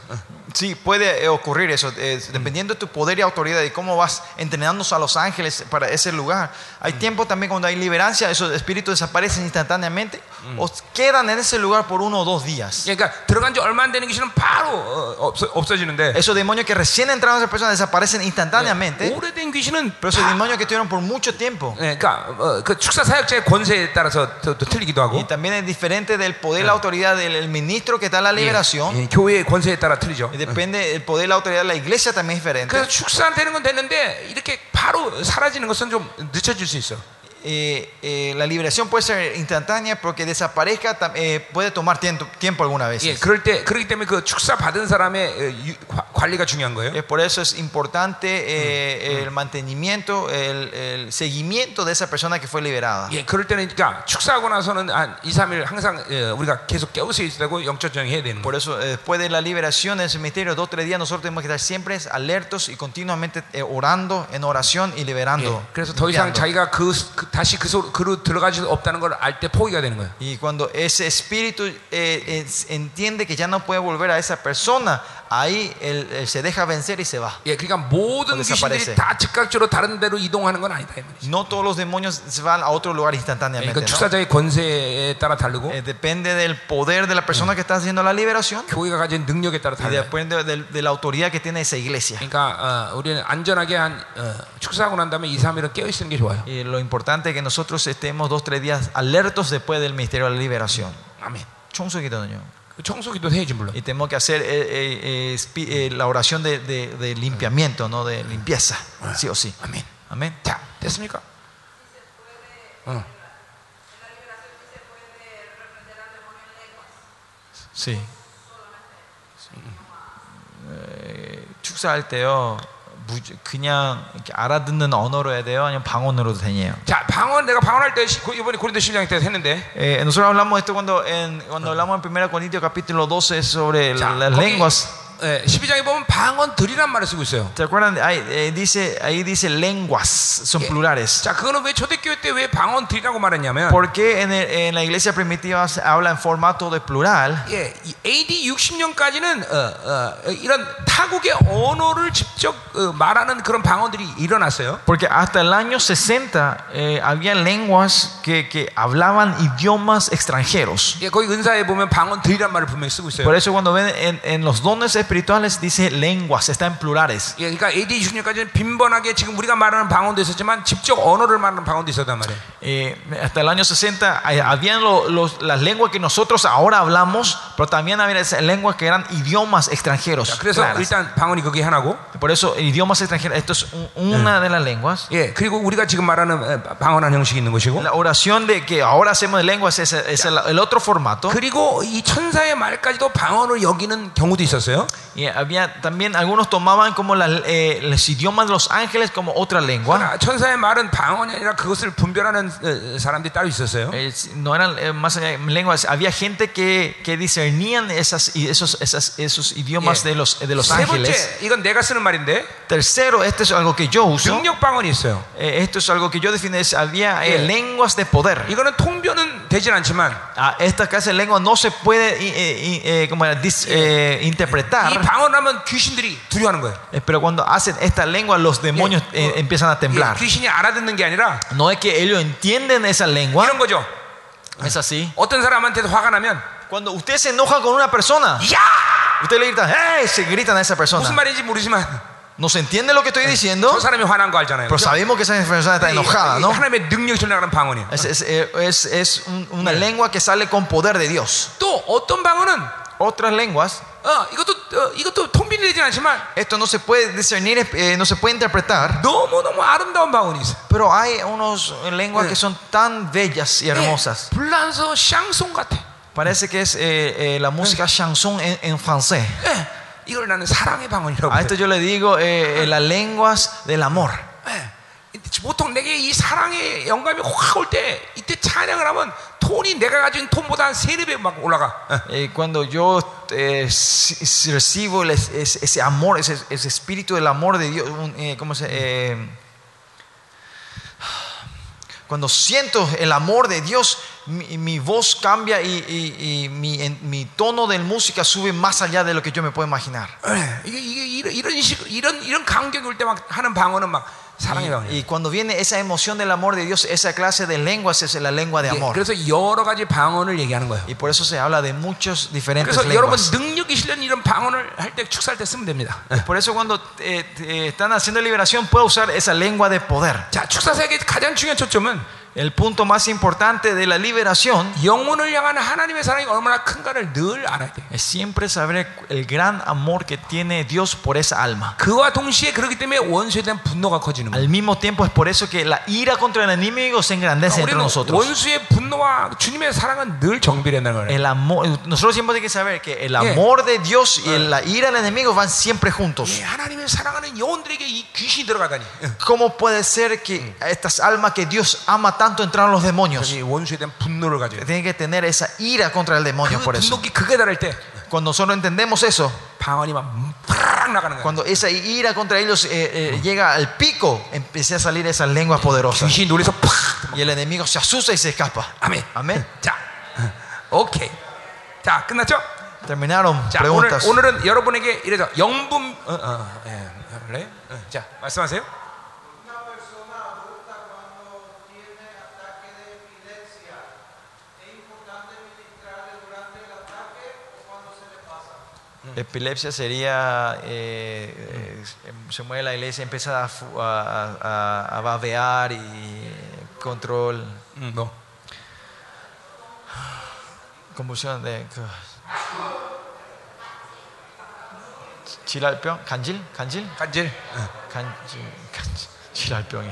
Sí, puede ocurrir eso, dependiendo de tu poder y autoridad y cómo vas entrenando a los ángeles para ese lugar. Hay tiempo también cuando hay liberancia, esos espíritus desaparecen instantáneamente o quedan en ese lugar por 1 o 2 días. 그러니까 들어간 지 얼마 안 되는 귀신은 바로 없어지는데 Esos demonios que recién entraron a esa persona desaparecen instantáneamente, 오래된 귀신은 pero esos demonios que estuvieron por mucho tiempo. 그러니까 그 축사 사역자의 권세에 따라서 또 틀리기도 하고 Y también es diferente del poder y la autoridad del ministro que está en la liberación. 교회의 권세에 따라 틀리죠. Y depende del poder y la autoridad de la iglesia también es diferente. 그래서 축사되는 건 됐는데 이렇게 바로 사라지는 것은 좀 늦춰질 수 있어. La liberación puede ser instantánea porque desaparezca puede tomar tiempo algunas veces. 그렇기 때문에 그 축사 받은 사람의 관리가 중요한 거예요. Por eso es importante el mantenimiento, el seguimiento de esa persona que fue liberada. 그럴 때는 그러니까 축사하고 나서는 한 2, 3일 항상 우리가 계속 깨어 있어야 되고 영적 조정해야 되는 거예요. Por eso después de la liberación del cementerio 2 o 3 días nosotros tenemos que estar siempre alertos y continuamente orando en oración y liberando. 그래서 더 이상 자기가 다시 그로 들어갈 수 없다는 걸 알 때 포기가 되는 거예요. Y cuando ese espíritu entiende que ya no puede volver a esa persona, ahí él se deja vencer y se va. 그러니까 모든 귀신들이 다 즉각적으로 다른 데로 이동하는 건 아니다. No todos los demonios se van a otro lugar instantáneamente. 그러니까 축사자의 권세에 따라 다르고 depende del poder de la persona que está haciendo la liberación. 교회가 가진 능력에 따라 y depende de la autoridad que tiene esa iglesia. 그러니까 우리는 안전하게 축사하고 난 다음에 2, 3일은 깨어 있는 게 좋아요. Y lo importante es que nosotros estemos 2 o 3 días alertos después del ministerio de la liberación. 아멘. 청소기도는요. 청소기도 해야지 물론. Y tenemos que hacer la oración de limpiamiento, no de limpieza, sí o sí. 아멘. Amén. 자, 됐습니까? Sí. 축사할 때요. 그냥 알아듣는 언어로 해야 돼요? 아니면 방언으로도 되냐요? 자, 내가 방언할 때 이번에 고린도 12장 때 했는데. nosotros hablamos de esto cuando hablamos en 1 Corintios capítulo 12 sobre las lenguas. 12장에 보면 방언들이란 말을 쓰고 있어요. ¿Te acuerdan? Ahí dice lenguas, son plurales. 자, 그거는 왜 초대교회 때 왜 방언들이라고 말했냐면 porque en la iglesia primitiva se habla en formato de plural. AD 60년까지는 이런 타국의 언어를 직접 말하는 그런 방언들이 일어났어요. Porque hasta el año 60 había lenguas que hablaban idiomas extranjeros. 거기 은사에 보면 방언들이란 말을 분명히 쓰고 있어요. Por eso cuando ven en los dones espirituales dice lenguas, está en plurales. 그러니까 AD 60년까지는 빈번하게 지금 우리가 말하는 방언도 있었지만 직접 언어를 말하는 방언도 있었단 말이에요. Hasta el año 60 habían las lenguas que nosotros ahora hablamos, pero también había lenguas que eran idiomas extranjeros. 그래서 일단 방언이 그게 하나고. Por eso idiomas extranjeros, esto es una de las lenguas. 그리고 우리가 지금 말하는 방언한 형식이 있는 것이고. La oración de que ahora hacemos de lenguas es el otro formato. 그리고 이 천사의 말까지도 방언을 여기는 경우도 있었어요. Y había también algunos tomaban como los idiomas de los ángeles como otra lengua. 천사의 말은 방언이 아니라 그것을 분별하는 사람들이 따로 있었어요. No eran más allá de lenguas. Había gente que discernían esos idiomas de los ángeles. 세 번째, 이건 내가 쓰는 말인데. Tercero, esto es algo que yo uso. 능력 방언이 있어요. Esto es algo que yo defino. Había lenguas de poder. 이거는 통변은 되진 않지만. Esta clase de lengua no se puede interpretar. 방언하면 귀신들이 두려워하는 거예요. Pero cuando hacen esta lengua los demonios empiezan a temblar. 귀신이 알아듣는 게 아니라 no es que ellos entienden esa lengua. 이런 거죠. Es así. 어떤 사람한테도 화가 나면 cuando usted se enoja con una persona, 야! usted le grita, ¡hey! Se gritan a esa persona. 무슨 말인지 모르지만 no se entiende lo que estoy diciendo. 저 사람이 화난 거 알잖아요. Pero sabemos que esa persona está enojada, ¿no? 하나님의 능력이 전하는 방언이에요. Es una lengua que sale con poder de Dios. 또 어떤 방언은 otras lenguas. 이것도 통변이 되진 않지만 esto no se puede discernir, no se puede interpretar. 너무 아름다운 방언이 있어요. Pero hay unos lenguas que son tan bellas y hermosas. 불란서 샹송 같아. Parece que es la música chanson en francés. 이걸 나는 사랑의 방언이라고. A esto yo le digo las lenguas del amor. 보통 내게 이 사랑의 영감이 확 올 때 이때 찬양을 하면 톤이 내가 가진 톤보다 한 3-4배 막 올라가. Cuando yo recibo ese amor, ese espíritu del amor de Dios, cuando siento el amor de Dios, mi voz cambia y mi tono de música sube más allá de lo que yo me puedo imaginar. 이런 감격이 올 때 막 하는 방언은 막 사랑의 방언이에요. Y cuando viene esa emoción del amor de Dios, esa clase de lenguas es la lengua de amor. 그래서 여러 가지 방언을 얘기하는 거예요. Y por eso se habla de muchos diferentes 그래서 여러분 lenguas. 능력이 실린 이런 방언을 할 때 축사할 때 쓰면 됩니다. Por eso cuando están haciendo liberación puede usar esa lengua de poder. 자, 축사사역의 가장 중요한 초점은 El punto más importante de la liberación 영혼을 향한 하나님의 사랑이 얼마나 큰가를 늘 알아야 돼. es siempre saber el gran amor que tiene Dios por esa alma. 그와 동시에 그렇기 때문에 원수에 대한 분노가 커지는 거예요. Al mismo tiempo es por eso que la ira contra el enemigo se engrandece entre 우리는 nosotros. 원수의 분노와 주님의 사랑은 늘 정비된다는 거예요. El amor, nosotros siempre tenemos que saber que el amor de Dios y la ira del enemigo van siempre juntos. 예, 하나님의 사랑하는 영혼들에게 이 귀신이 들어가다니. ¿Cómo puede ser que estas almas que Dios ama tanto entraron los demonios? 이 원수에 대한 분노를 가져요. Tienen que tener esa ira contra el demonio. 그 Por eso, 분노기 극에 달할 때 cuando nosotros entendemos eso, 방언이 막 팍 나가는 거예요. cuando esa ira contra ellos llega al pico, empieza a salir esas lenguas poderosas 귀신이 놀래서 팍. y el enemigo se asusta y se escapa. 아멘. Amén. 자, 오케이. 자, 끝났죠? Terminaron 자, preguntas. 오늘은 여러분에게 이래서 영분 그래? 자, 말씀하세요. Epilepsia sería, se mueve la iglesia, empieza a babear y control, 뭐? convulsión de 질랄병, 간질, 간질. 질랄병이래.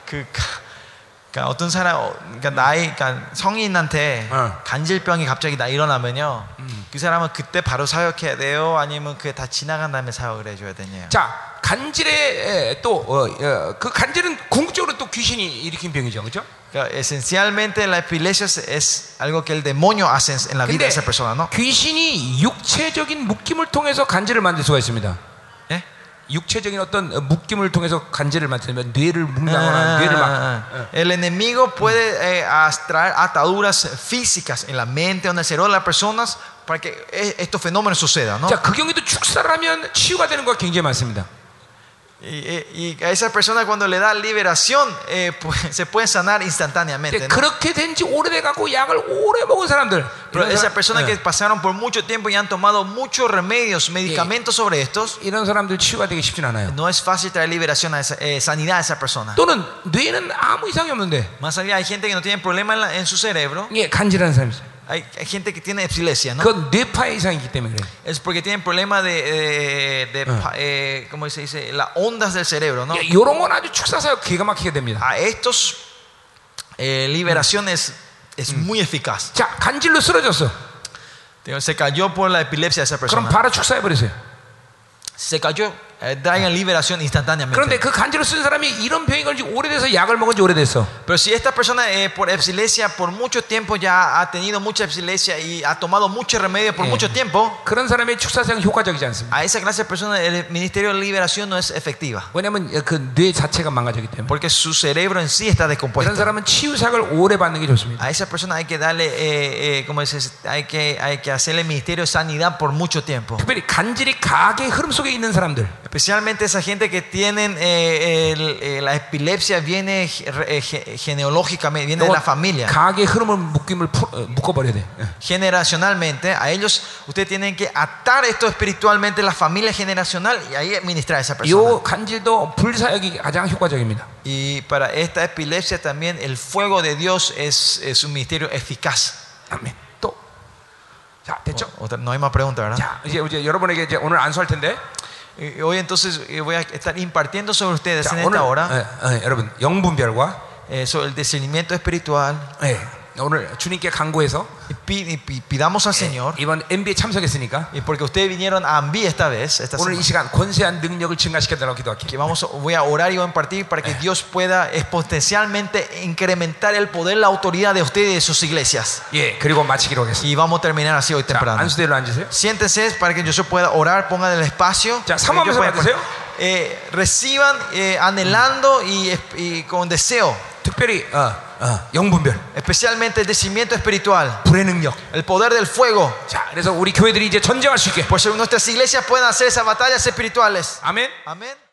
어떤 사람, 나이, 성인한테 간질병이 갑자기 일어나면요, 그 사람은 그때 바로 사역해야 돼요? 아니면 그게 다 지나간 다음에 사역을 해줘야 되냐요? 자, 간질의 또 그 간질은 궁극적으로 또 귀신이 일으킨 병이죠, 그렇죠? Esencialmente la epilepsia es algo que el demonio hace en la vida de esa persona, ¿no? 귀신이 육체적인 묶임을 통해서 간질을 만들 수가 있습니다. ¿Eh? 육체적인 어떤 묶임을 통해서 간질을 만들면 뇌를 묶는다거나 뇌를 막 El enemigo puede traer ataduras físicas en la mente o en el cerebro de las personas para que estos fenómenos sucedan, ¿no? 자, 그 경우에도 축사를 하면 치유가 되는 거 굉장히 많습니다. Y a esa persona cuando le da liberación se puede sanar instantáneamente, ¿no? 그렇게 된 지 오래돼 갖고 약을 오래 먹은 사람들, Pero esas personas que pasaron por mucho tiempo y han tomado muchos remedios, medicamentos sobre estos, 이런 사람들 치유가 되기 쉽진 않아요. no es fácil traer liberación a sanidad a esa persona. 또는 뇌는 아무 이상이 없는데 Más allá hay gente que no tiene problema en su cerebro, 예, 간질하는 사람이 있어요. hay gente que tiene epilepsia, ¿no? 그건 뇌파의 이상이기 때문에 그래요. Es porque tienen problema ¿cómo se dice? Las ondas del cerebro, ¿no? 이런 건 아주 축사사역 기가 막히게 됩니다. A estos liberación es muy eficaz. 자, 간질로 쓰러졌어. Se cayó por la epilepsia de esa 그럼 persona. 바로 축사해 버리세요. Se cayó, traigan liberación instantáneamente. 그런데 그 간질로 쓴 사람이 이런 병이 걸리지 오래돼서 약을 먹은 지 오래됐어. Pero si esta persona por epilepsia por mucho tiempo ya ha tenido mucha epilepsia y ha tomado mucho remedio por mucho tiempo, 그런 사람의 축사사역은 효과적이지 않습니다. a esa clase de personas el ministerio de liberación no es efectiva. 왜냐하면 그 뇌 자체가 망가졌기 때문에. Porque su cerebro en sí está 그런 descompuesto. 사람은 치유사역을 오래 받는 게 좋습니다. A esa persona hay que darle, ¿cómo dices? Hay que hacerle ministerio de sanidad por mucho tiempo. 특별히 간질이 가계의 흐름 속에 있는 사람들. Especialmente esa gente que tienen la epilepsia viene genealógicamente, viene de la familia. 가계의 흐름을 묶어버려야 돼. Generacionalmente, a ellos ustedes tienen que atar esto espiritualmente, la familia generacional, y ahí ministrar a esa persona. 이 간질도 불사역이 가장 효과적입니다. Y para esta epilepsia también el fuego de Dios es un ministerio eficaz. 아멘. 또, 자, 됐죠? No hay más preguntas, ¿verdad? 자, 이제 여러분에게 이제 오늘 안수할 텐데. Hoy entonces voy a estar impartiendo sobre ustedes 자, en esta hora 여러분 영분별과 sobre el discernimiento espiritual. 오늘 주님께 간구해서 pidamos al Señor, 이번 MB에 참석했으니까 y porque ustedes vinieron a AMBI esta 오늘 이 semana, 시간 권세한 능력을 증가시켜달라고 기도할게요. que voy a orar y voy a impartir para que Dios pueda exponencialmente incrementar el poder, la autoridad de ustedes y de sus iglesias. 예, 그리고 마치기로 하겠습니다. Y vamos a terminar así hoy 자, temprano. 안수대로 앉으세요. Siéntense para que yo pueda orar, pongan el espacio. 자, 사모하면서 받으세요. Reciban anhelando y con deseo. 특별히 영분별, especialmente el decimiento espiritual, 불의 능력. el poder del fuego. 자, 그래서 우리 교회들이 이제 전쟁할 수 있게. Por eso nuestras iglesias pueden hacer esas batallas espirituales. 아멘. Amén.